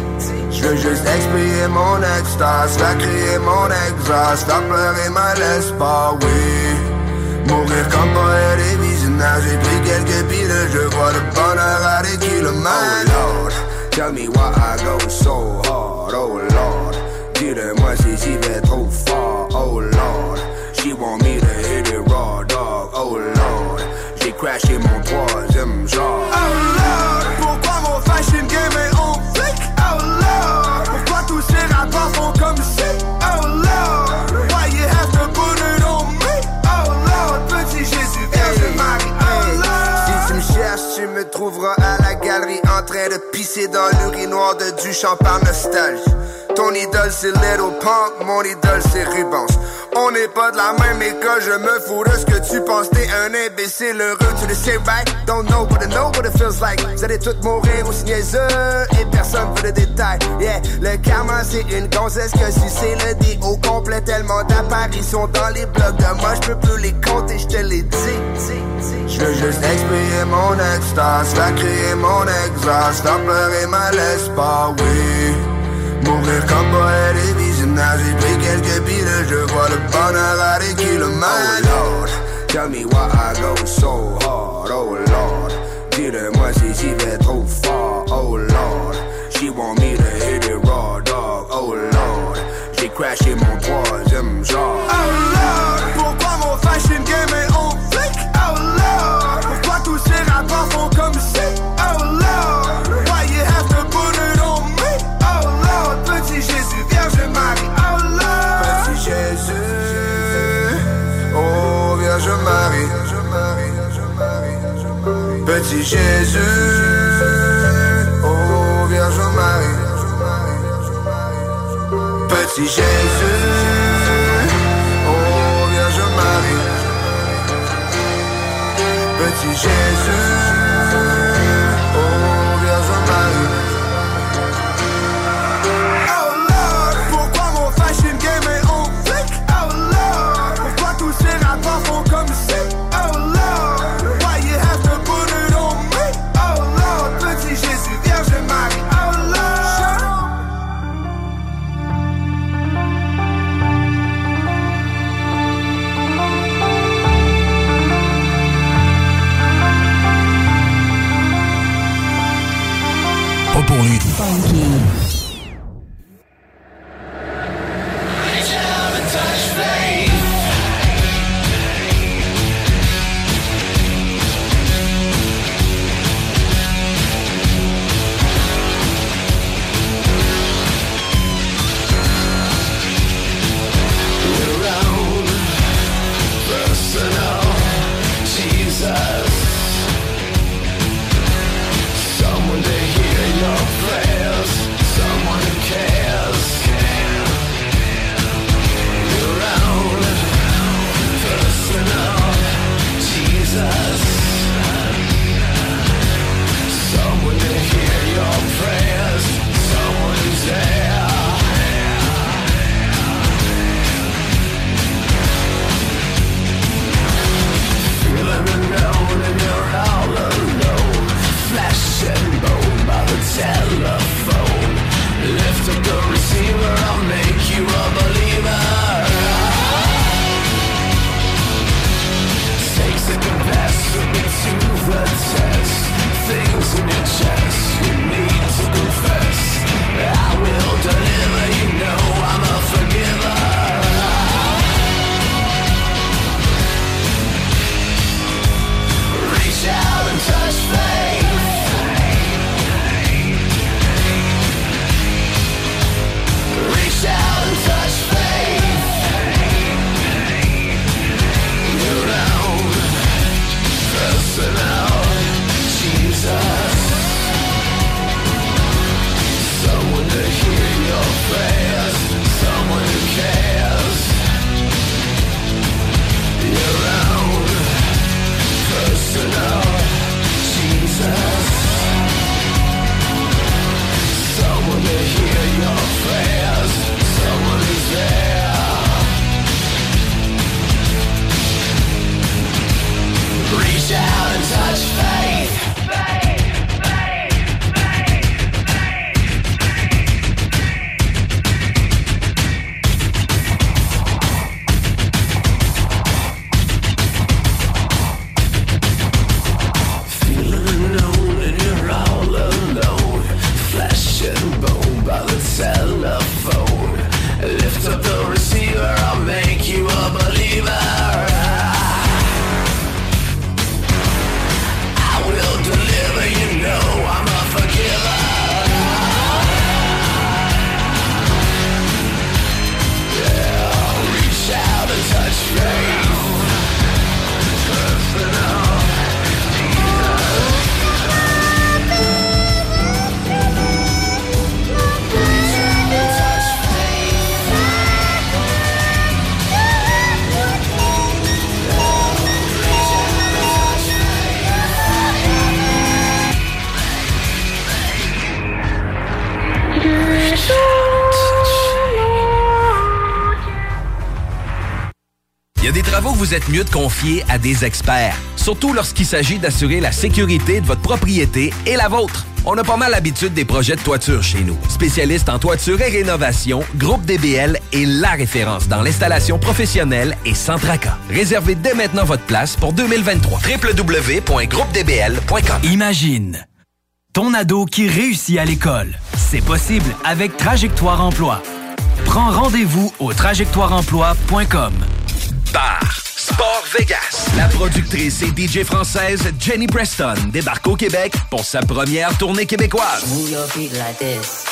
Je veux juste expier mon extase, faire crier mon exhaust, faire pleurer ma l'espoir, oui. Mourir comme poète et visionnaire, j'ai pris quelques piles, je vois le bonheur à des kilomètres. Oh Lord, tell me why I go so hard, oh Lord. Dis-le-moi si j'y vais trop fort, oh Lord. She want me to hit it raw, dog, oh Lord. J'ai crashé mon troisième genre. Oh Lord, pourquoi mon fashion game est on flic? Oh Lord, pourquoi tous ces rappeurs font comme si? Oh Lord, why you have to put it on me? Oh Lord, petit Jésus, Vierge Marie. Oh Lord, si tu me cherches, tu me trouveras à la galerie en train de pisser dans l'urinoir de Duchamp par nostalgie. Ton idole c'est Little Pump, mon idole c'est Rubens. On n'est pas de la même école, je me fous de ce que tu penses. T'es un imbécile heureux, tu le sais right? Don't know but I know what it feels like. Vous allez tous mourir aussi niaiseux et personne veut le détail. Yeah, le karma c'est une gonzesse que si c'est le dé au complet. Tellement d'apparitions dans les blogs de moi, je peux plus les compter, je te l'ai dit. Je veux juste expier mon extase, faire crier mon exhaust, faire pleurer ma l'espoir, oui. Mourir comme poète et visionnaire, j'ai pris quelques piles, je vois le bonheur à des kilomètres. Oh Lord, tell me why I go so hard, oh Lord. Dis-le-moi si j'y vais trop fort, oh Lord. She want me to hit it raw, dog, oh Lord. J'ai crashé mon troisième genre. Oh Lord, pourquoi mon fashion game est on flic? Oh Lord, pourquoi tous ces rappeurs font comme si? Oh Lord, why you have to put it on me? Oh Lord, petit Jésus, Vierge Marie. Oh Lord, petit Jésus, oh Vierge Marie. Petit Jésus, oh Vierge Marie. Petit Jésus, oh Vierge Marie. Petit Jésus, oh Vierge Marie. Oh Lord, pourquoi mon fashion game est on flic? Oh Lord, pourquoi tous ces rappeurs font comme si? Oh Lord, why you have to put it on me? Oh Lord, petit Jésus, Vierge Marie. Oh Lord. out and touch faith. Telephone. Lift up the receiver, I'll make you a believer. I will deliver, you know I'm a forgiver. Yeah, reach out and touch faith. Trust in all. Il y a des travaux que vous êtes mieux de confier à des experts, surtout lorsqu'il s'agit d'assurer la sécurité de votre propriété et la vôtre. On a pas mal l'habitude des projets de toiture chez nous. Spécialiste en toiture et rénovation, Groupe D B L est la référence dans l'installation professionnelle et sans tracas. Réservez dès maintenant votre place pour deux mille vingt-trois. w w w point groupe d b l point com. Imagine ton ado qui réussit à l'école. C'est possible avec Trajectoire Emploi. Prends rendez-vous au trajectoire emploi point com. Bar Sport Vegas. La productrice et D J française Jenny Preston débarque au Québec pour sa première tournée québécoise. Move your feet like this.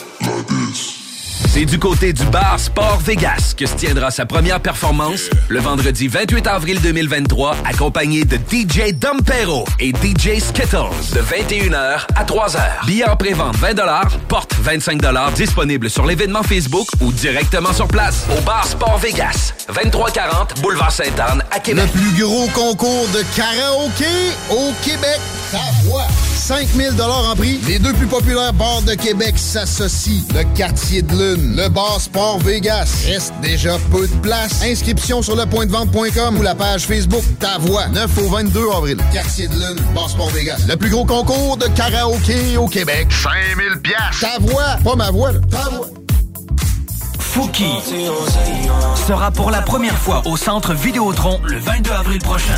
C'est du côté du bar Sport Vegas que se tiendra sa première performance le vendredi vingt-huit avril deux mille vingt-trois, accompagné de D J Dompero et D J Skittles de vingt et une heures à trois heures. Billets en pré-vente vingt dollars, porte vingt-cinq dollars, disponible sur l'événement Facebook ou directement sur place au bar Sport Vegas, vingt-trois quarante Boulevard Sainte-Anne à Québec. Le plus gros concours de karaoké au Québec. Ta voix. cinq mille dollars en prix. Les deux plus populaires bars de Québec s'associent. Le Quartier de Lune, le bar Sport Vegas. Reste déjà peu de place. Inscription sur le point de vente point com ou la page Facebook Ta Voix. neuf au vingt-deux avril. Quartier de Lune, bar Sport Vegas. Le plus gros concours de karaoké au Québec. cinq mille piastres. Ta Voix. Pas ma voix, là. Ta Voix. Fouki sera pour la première fois au Centre Vidéotron le vingt-deux avril prochain.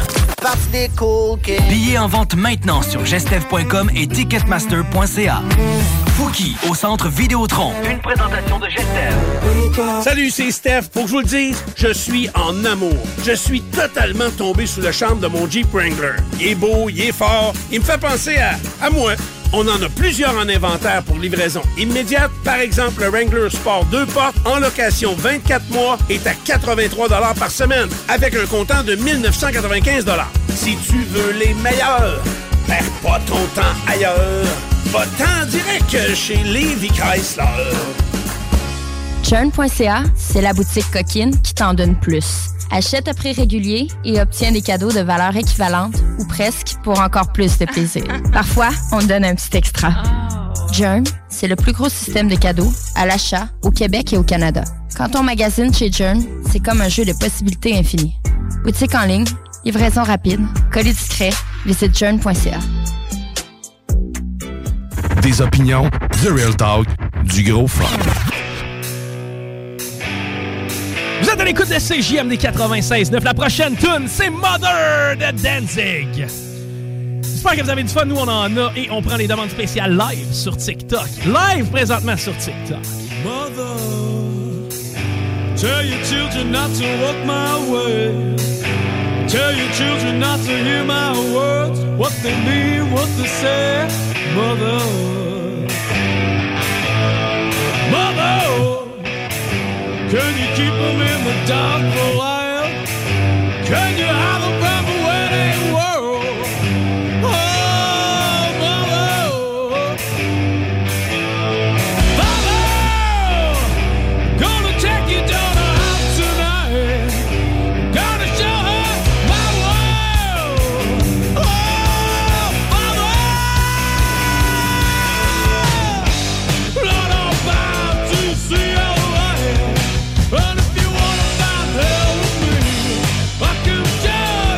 Billets en vente maintenant sur gestev point com et ticketmaster point c a. Fouki au Centre Vidéotron. Une présentation de Gestev. Salut, c'est Steph. Pour que je vous le dise, je suis en amour. Je suis totalement tombé sous le charme de mon Jeep Wrangler. Il est beau, il est fort, il me fait penser à, à moi. On en a plusieurs en inventaire pour livraison immédiate. Par exemple, le Wrangler Sport deux portes en location vingt-quatre mois est à quatre-vingt-trois dollars par semaine avec un comptant de mille neuf cent quatre-vingt-quinze dollars. Si tu veux les meilleurs, perds pas ton temps ailleurs. Va-t'en direct chez Lévi Chrysler. Churn point c a, c'est la boutique coquine qui t'en donne plus. Achète à prix régulier et obtiens des cadeaux de valeur équivalente ou presque pour encore plus de plaisir. Parfois, on te donne un petit extra. Jern, c'est le plus gros système de cadeaux à l'achat au Québec et au Canada. Quand on magasine chez Jern, c'est comme un jeu de possibilités infinies. Boutique en ligne, livraison rapide, colis discret, visite jern point c a. Des opinions, du real talk, du gros fun. Vous êtes à l'écoute de C J M D quatre-vingt-seize neuf. La prochaine tune, c'est Mother de Danzig. J'espère que vous avez du fun. Nous, on en a et on prend les demandes spéciales live sur TikTok. Live présentement sur TikTok. Mother, tell your children not to walk my way. Tell your children not to hear my words. What they mean, what they say. Mother, Mother, can you keep them in the dark for a while? Can you hide them from the wedding world? Oh, Mother, Mother, gonna take your daughter out tonight. Gonna show her my world. Oh, Mother, Lord, I'm bound to see your light. And if you wanna find hell with me, I can tell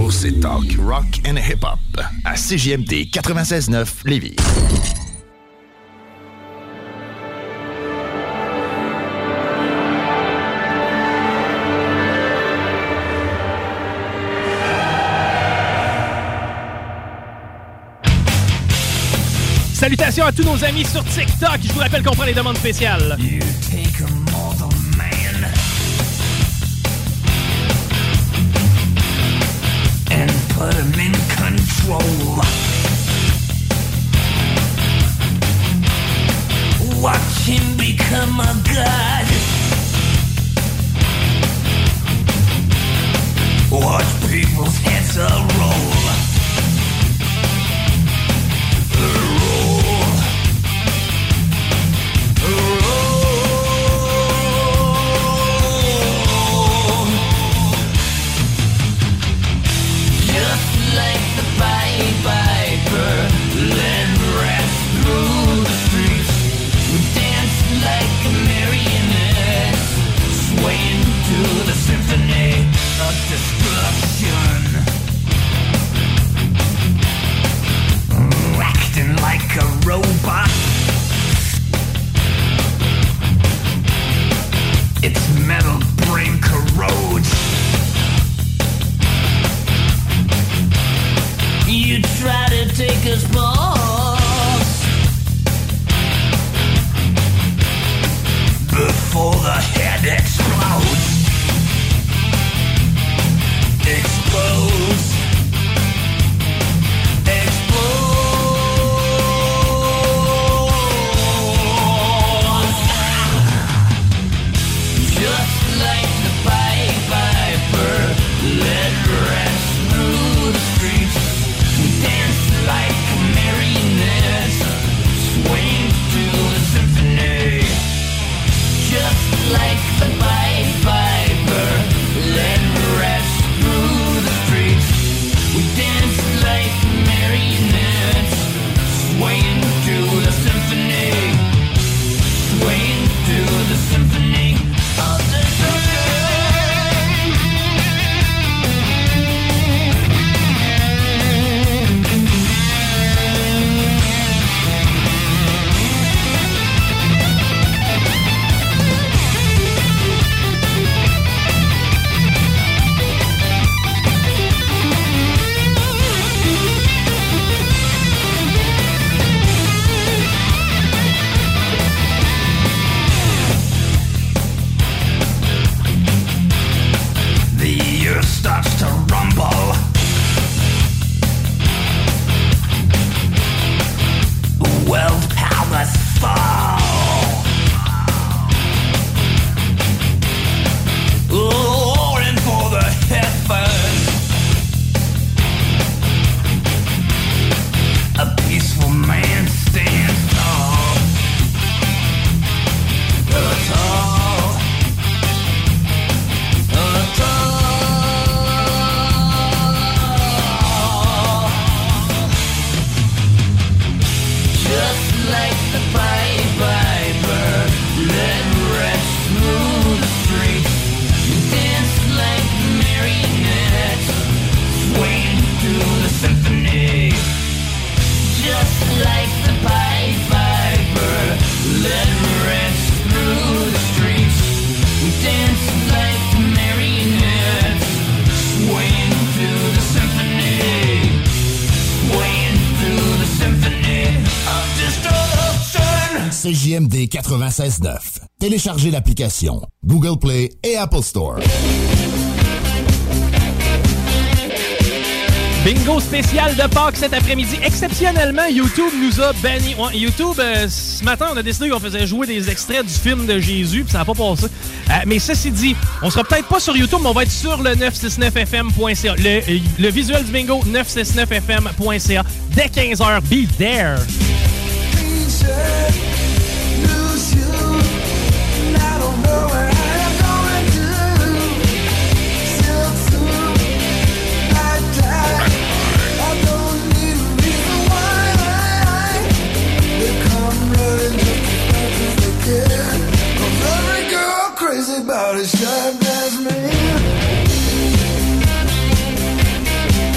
Bingo, c'est talk, rock and hip-hop. À C J M D quatre-vingt-seize neuf Lévis. Salutations à tous nos amis sur TikTok. Je vous rappelle qu'on prend les demandes spéciales. You take a mortal man and put him in control. Watch him become a god. Watch people's heads roll. Like a robot, its metal brain corrodes. You try to take us balls before the head explodes. Explodes. Like the Pied Piper, let rest through the streets. We dance like marionettes, swaying to the symphony, swaying to the symphony of destruction. Starts to rumble. World powers fall. Roaring for the heavens. A peaceful man stands tall. Tall. Tall. Like the Pied Piper, let rest through the streets. Dance like marionettes, swaying to the symphony. Just like the Pied Piper, let rest through the streets. Dance like marionettes, swaying to the symphony, swaying to the symphony of destruction. C J M D quatre-vingt-seize neuf. Téléchargez l'application Google Play et Apple Store. Bingo spécial de Pâques cet après-midi. Exceptionnellement, YouTube nous a banni. Ouais, YouTube, euh, ce matin, on a décidé qu'on faisait jouer des extraits du film de Jésus, puis ça n'a pas passé. Euh, mais ceci dit, on sera peut-être pas sur YouTube, mais on va être sur le neuf cent soixante-neuf F M point C A. Le, le visuel du bingo, neuf cent soixante-neuf F M point C A. Dès quinze heures, be there! About as sharp as me.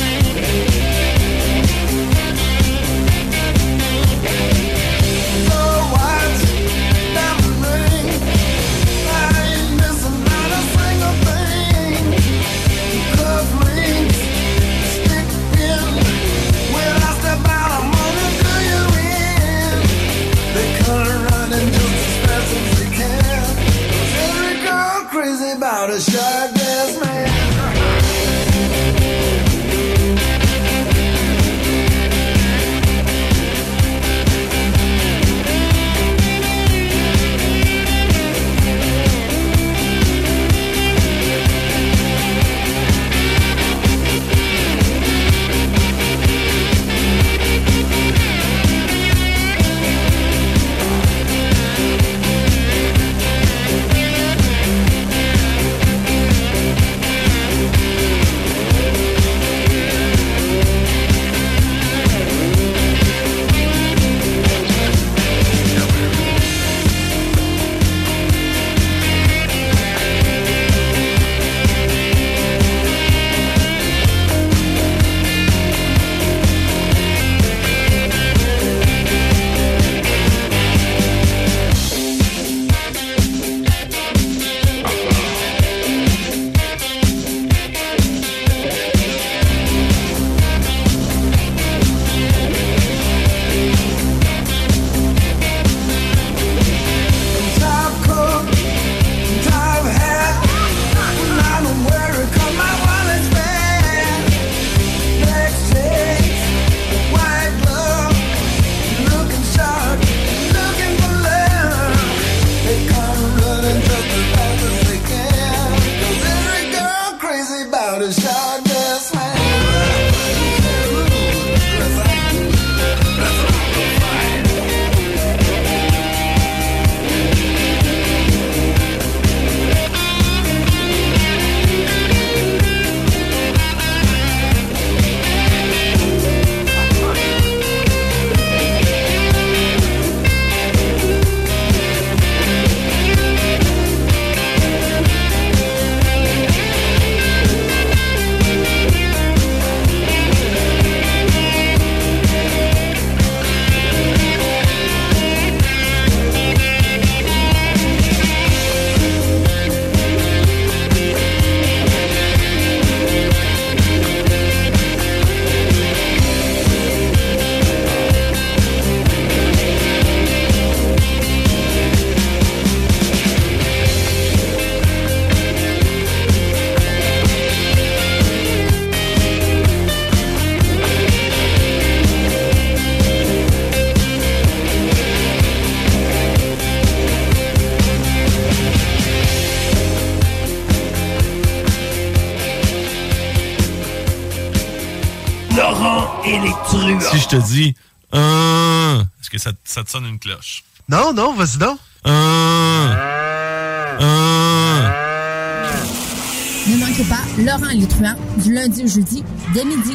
Laurent et les truands. Si je te dis euh, est-ce que ça, ça te sonne une cloche? Non, non, vas-y donc. Euh, euh. Ne manquez pas Laurent et les truands du lundi au jeudi dès midi.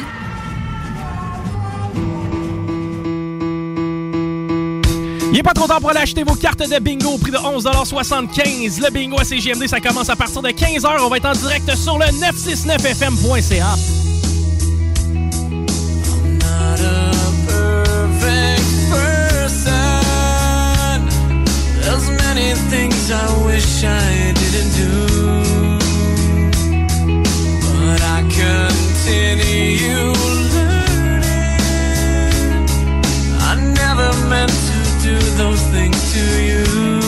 Il n'est pas trop tard pour aller acheter vos cartes de bingo au prix de onze soixante-quinze. Le bingo à C G M D, ça commence à partir de quinze heures. On va être en direct sur le neuf cent soixante-neuf F M point C A. There's many things I wish I didn't do, but I continue learning. I never meant to do those things to you,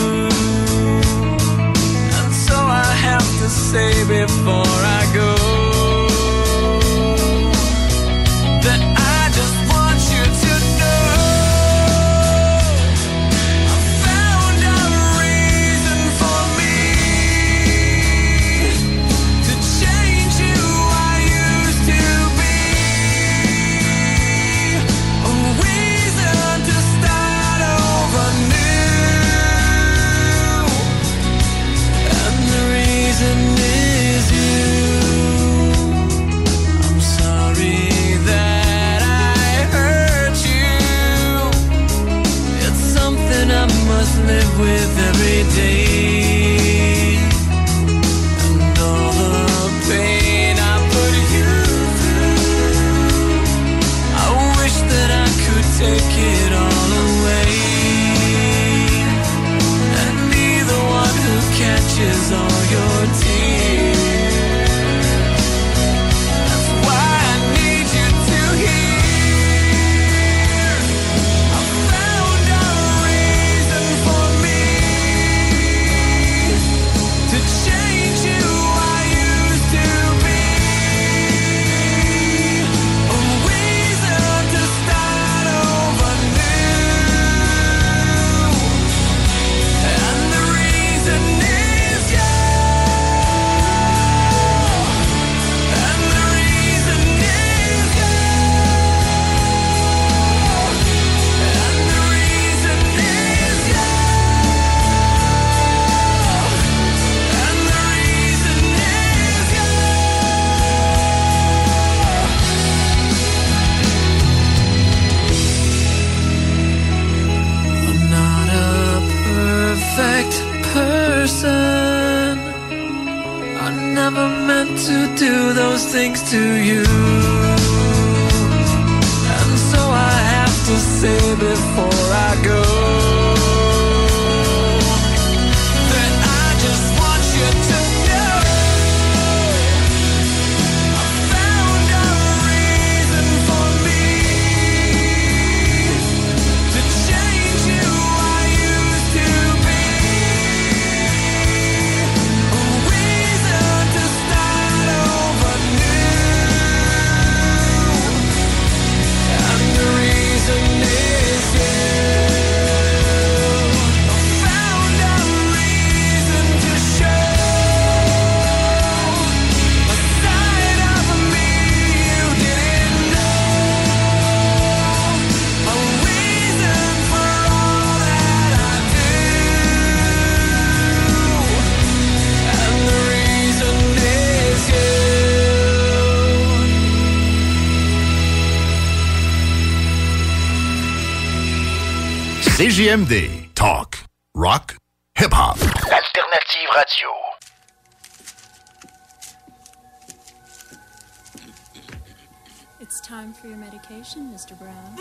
and so I have to say before I go that I just want you to know live with every day, and all the pain I put you through, I wish that I could take it all away, and be the one who catches all your tears. That's why I need you to hear I found a reason for me to change who I used to be, a reason to start over new, and the reason is you, and the reason is you, and the reason is you, and the reason is you. I'm not a perfect person. I never meant to do those things to you, and so I have to say before I go that I just want you to know I found a reason for me to change who I used to be, a reason to start over new, and the reason is you. C J M D. Talk, rock, hip-hop. L'alternative radio. It's time for your medication, Mister Brown.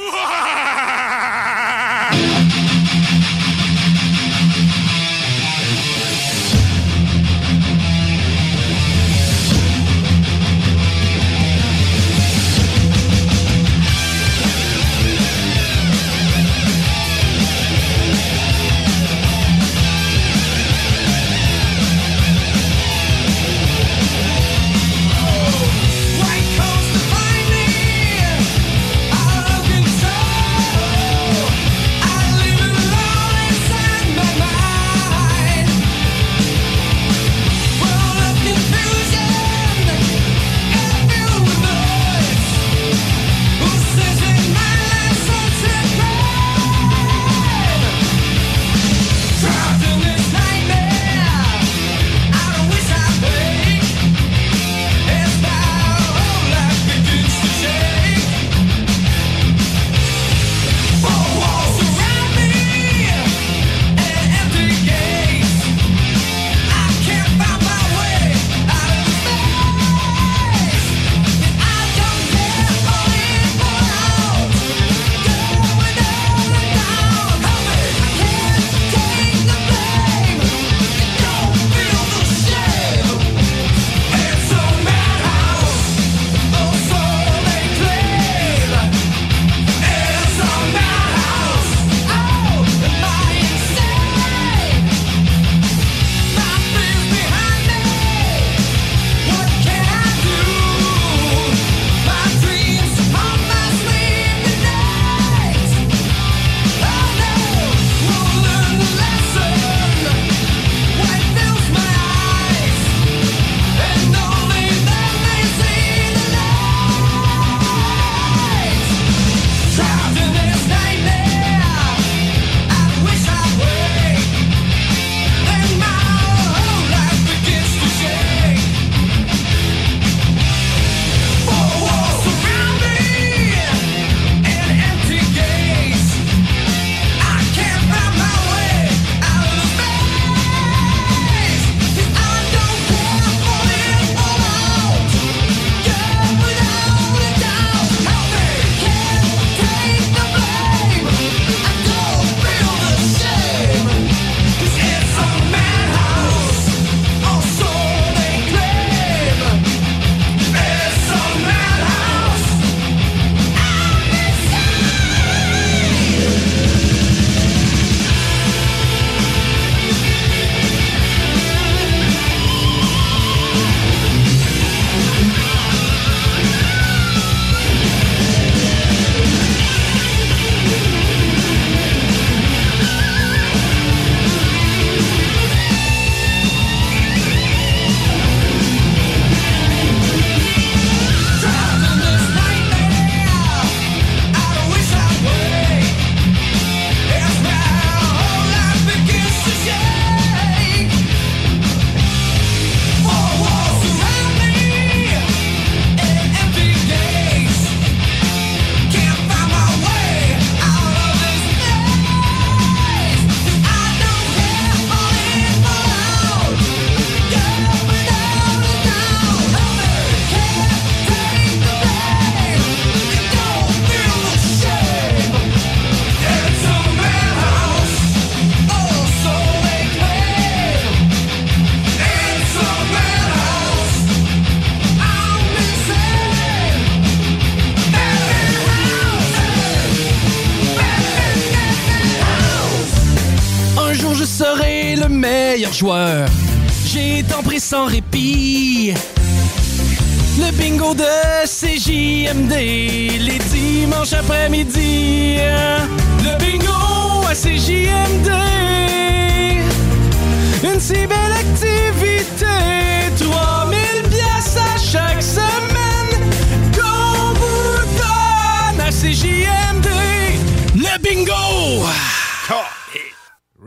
Joueur. J'ai tant pris sans répit. Le bingo de C J M D, les dimanches après-midi. Le bingo à C J M D, une si belle activité. trois mille piastres à chaque semaine qu'on vous donne à C J M D. Le bingo!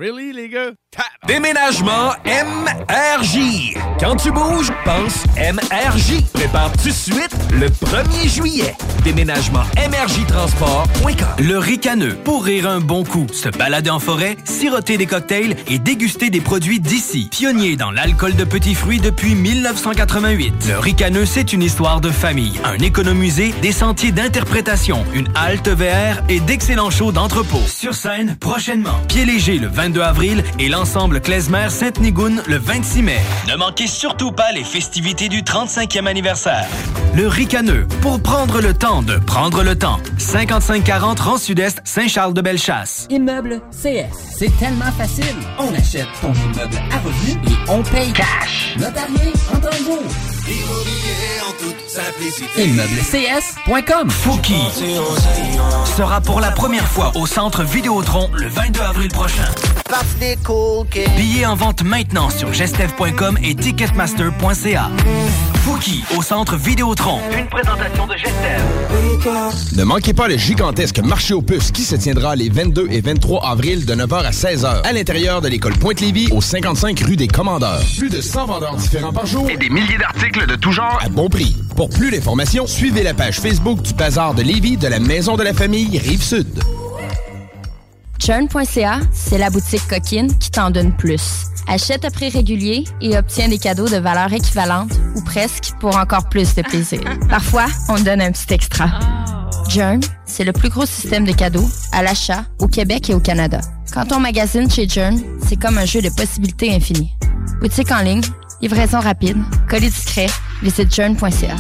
Really, les gars? Déménagement M R J. Quand tu bouges, pense M R J. Prépare tout de suite le premier juillet. Déménagement M R J transport point com. Le ricaneux. Pour rire un bon coup, se balader en forêt, siroter des cocktails et déguster des produits d'ici. Pionnier dans l'alcool de petits fruits depuis mille neuf cent quatre-vingt-huit. Le ricaneux, c'est une histoire de famille. Un économusée, des sentiers d'interprétation, une halte V R et d'excellents shows d'entrepôt. Sur scène, prochainement. Pied léger le vingt-deux avril et l'ensemble Klezmer-Sainte-Nigoune le vingt-six mai. Ne manquez surtout pas les festivités du trente-cinquième anniversaire. Le ricaneux. Pour prendre le temps de prendre le temps. cinquante-cinq quarante rang Sud-Est, Saint-Charles-de-Bellechasse. Immeuble C S. C'est tellement facile. On achète ton immeuble à revenu et on paye cash. Notarié en temps de jour. Immobilier en toute simplicité. Immeuble C S point com. Fouki sera pour la première fois au Centre Vidéotron le vingt-deux avril prochain. Billets en vente maintenant sur gestev point com et ticketmaster point c a. Fouki au Centre Vidéotron. Une présentation de Gestev. Ne manquez pas le gigantesque marché aux puces qui se tiendra les vingt-deux et vingt-trois avril de neuf heures à seize heures à l'intérieur de l'école Pointe-Lévis au cinquante-cinq rue des Commandeurs. Plus de cent vendeurs différents par jour et des milliers d'articles de tout genre à bon prix. Pour plus d'informations, suivez la page Facebook du Bazar de Lévis de la Maison de la Famille Rive-Sud. Churn point c a, c'est la boutique coquine qui t'en donne plus. Achète à prix régulier et obtiens des cadeaux de valeur équivalente ou presque pour encore plus de plaisir. Parfois, on te donne un petit extra. Journ, c'est le plus gros système de cadeaux à l'achat au Québec et au Canada. Quand on magasine chez Journ, c'est comme un jeu de possibilités infinies. Boutique en ligne, livraison rapide, colis discret, visite journ point c a.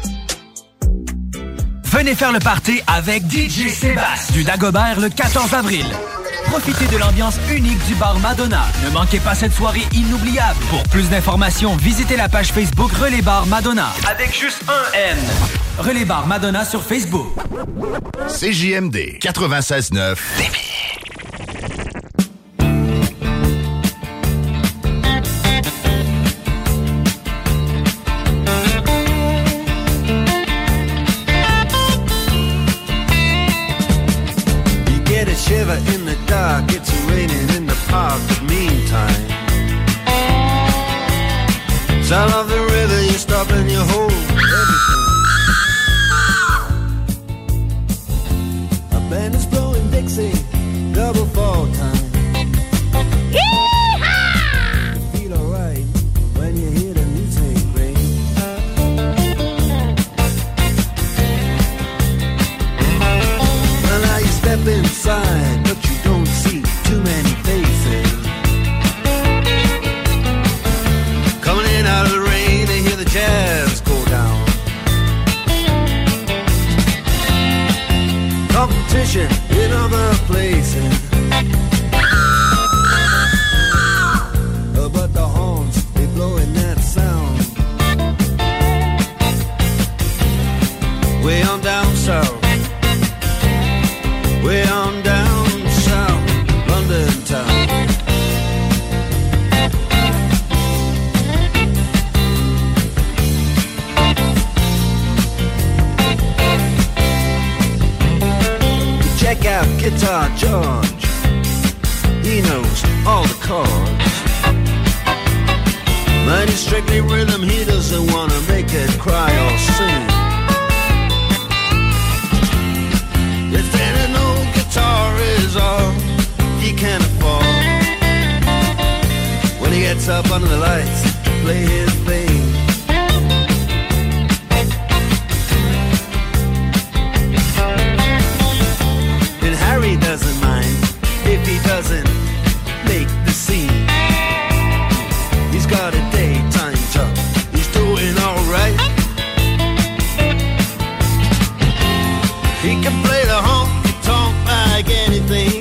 Venez faire le party avec D J Sébastien du Dagobert le quatorze avril. Profitez de l'ambiance unique du bar Madonna. Ne manquez pas cette soirée inoubliable. Pour plus d'informations, visitez la page Facebook Relais Bar Madonna. Avec juste un N. Relais Bar Madonna sur Facebook. C J M D quatre-vingt-seize neuf. Shiver in the dark, it's raining in the park, but meantime sound of the river, you stop and you hold everything. A band is blowing Dixie, double fall time. Yee-haw! You feel alright when you hear the music ring. Well, now you step inside, but you don't see too many faces. Coming in out of the rain, they hear the jazz go down. Competition in other places. Uh, but the horns, they blowing that sound. Way on down south. Way on down south, London town. Check out Guitar George. He knows all the chords. Mighty strictly rhythm, he doesn't wanna make it cry or sing. If any no guitar is all he can afford, when he gets up under the lights to play his thing. And Harry doesn't mind if he doesn't make the scene. He's got a daytime job, he's doing alright. He can play the honky-tonk like anything,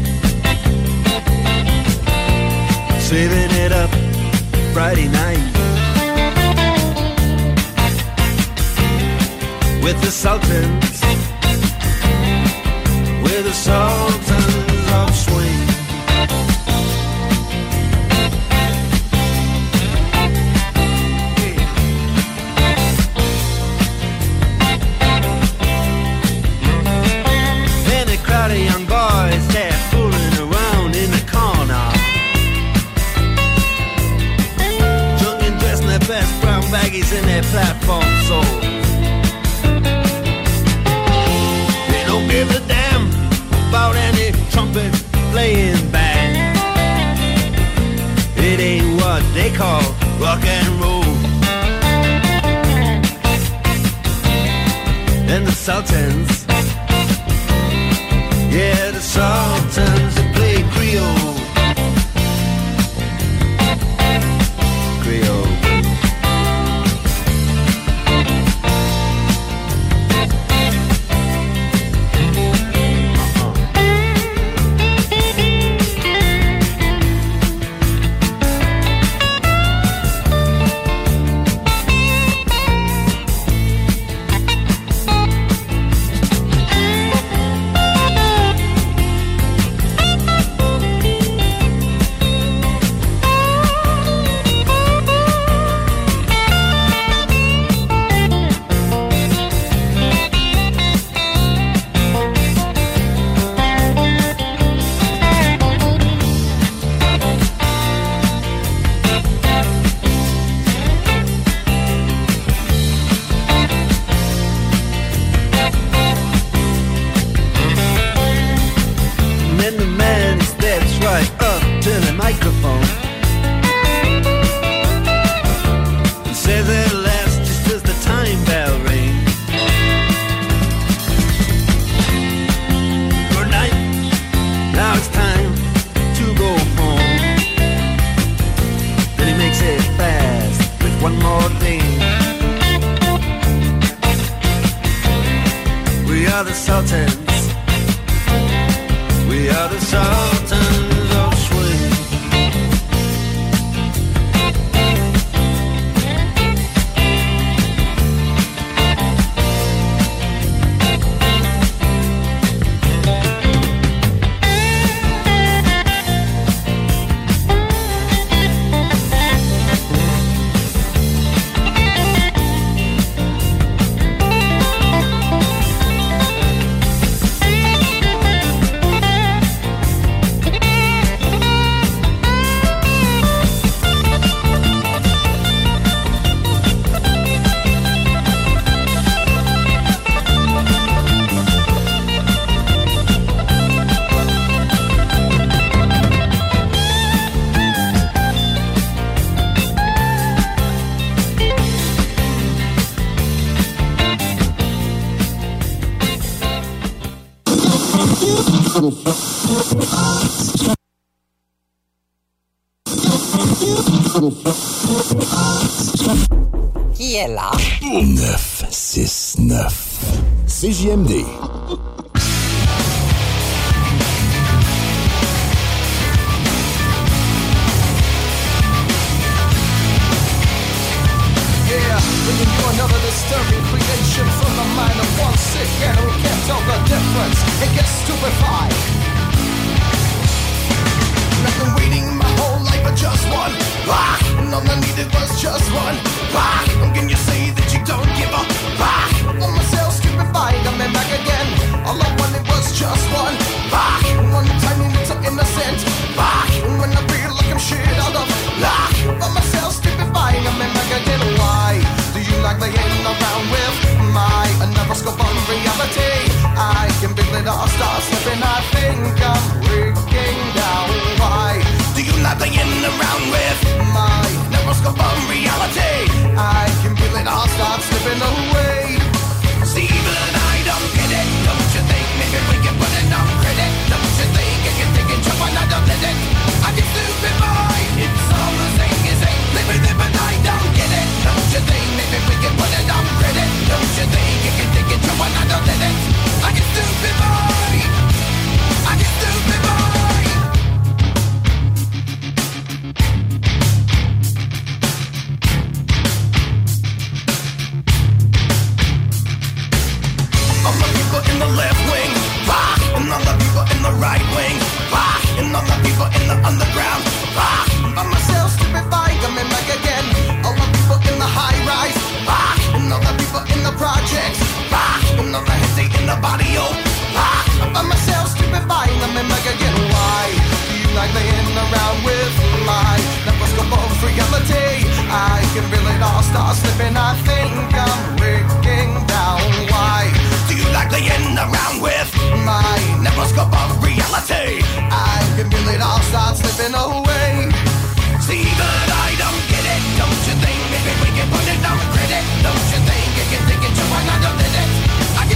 saving it up Friday night with the Sultans, with the Sultans of Swing. Crowd of young boys, they're fooling around in the corner. and the Sultans. Yeah, the Sultans that play Creole. Creole. Qui est là? neuf six neuf. C J M D. Yeah, bringing you another disturbing creation from the mind of one sick and who can't tell the difference and gets stupefied. I've been waiting my whole life for just one rock, and all I needed was just one rock. How can you say that you don't give a rock? For myself, stupefied, I'm back again. All I wanted was just one rock, one tiny little innocent rock. And when I feel like I'm shit out of luck, for myself, stupefied, I'm back again. Why do you like playing around with my another scope on reality? I can build it all, start slipping, I think I'm breaking down. Why do you like playing around with my never scope on reality? I can feel it all start slipping away. See, but I don't get it. Don't you think maybe we can put it on credit? Don't you think I can take it, jump on, I don't let it. I get stupid boy. It's all the same as ain't living it, but I don't get it. Don't you think maybe we can put it on credit? Don't you think I can take it, jump on, I don't let it. I get stupid boy. I get stupid boy. All the people in the left wing, rock, and all the people in the right wing, rock, and all the people in the underground, rock. By myself, stupefied, coming back again. All the people in the high rise, rock, and all the people in the projects, rock, and all the heads in the body, oh, rock. By myself, stupefied, coming back again. Why do you like playing around with my microscope of reality? I can feel it all start slipping. I think I'm breaking down. Why do you like playing around with my microscope of reality? I can feel it all start slipping away. See, but I don't get it. Don't you think maybe we can put it on credit? Don't you think you can take it to another minute? I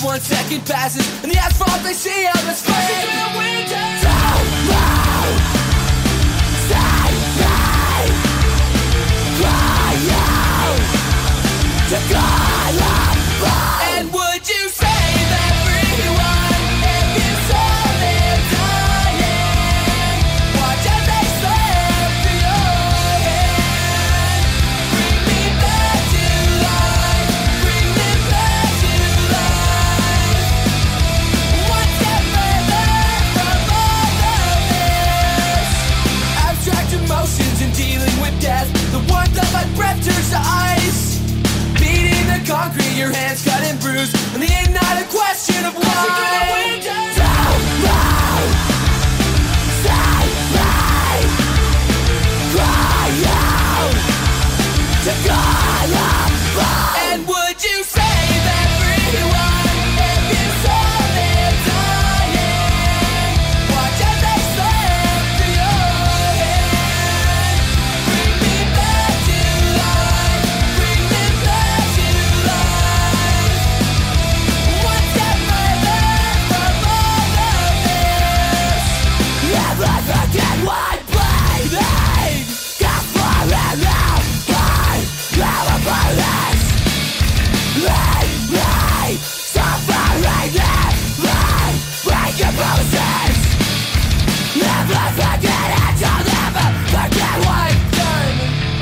And one second passes, and the asphalt they see on the screen. Rushing through the winter. Don't move. Save me. Cry out to God above. And would you save everyone if you saw them dying? Watch as they slip through your hand. Bring me back to life. Bring me back to life. One step further from all of this. Abstract emotions and dealing with death. The warmth of my breath turns to ice. Beating the concrete, your hands cut and bruised, and the end not a question of why. Don't move. Save me. Cry out to God above. And would you save everyone if you saw them dying? Watch as they slip through your hand. Bring me back to life. Bring me back to life. One step further from all of this. Never forget what bleeding. Got far and out. Find never police. Leave me suffering in me. Break your promises. Never forget it. You'll never forget what you've done.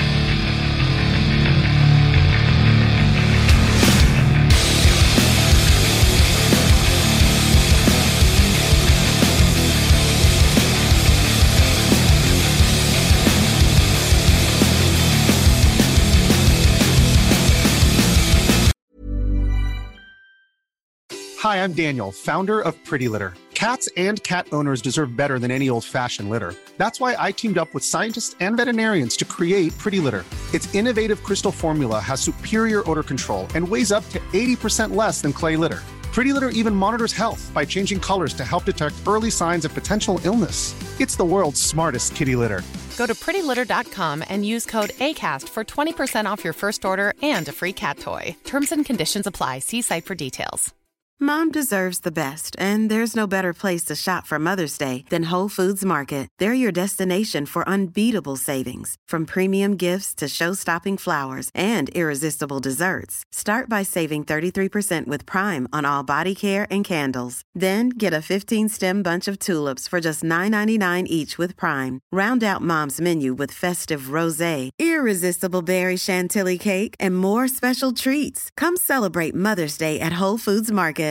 Hi, I'm Daniel, founder of Pretty Litter. Cats and cat owners deserve better than any old-fashioned litter. That's why I teamed up with scientists and veterinarians to create Pretty Litter. Its innovative crystal formula has superior odor control and weighs up to eighty percent less than clay litter. Pretty Litter even monitors health by changing colors to help detect early signs of potential illness. It's the world's smartest kitty litter. Go to pretty litter dot com and use code ACAST for twenty percent off your first order and a free cat toy. Terms and conditions apply. See site for details. Mom deserves the best, and there's no better place to shop for Mother's Day than Whole Foods Market. They're your destination for unbeatable savings, from premium gifts to show-stopping flowers and irresistible desserts. Start by saving thirty-three percent with Prime on all body care and candles. Then get a fifteen-stem bunch of tulips for just nine ninety-nine each with Prime. Round out Mom's menu with festive rosé, irresistible berry chantilly cake, and more special treats. Come celebrate Mother's Day at Whole Foods Market.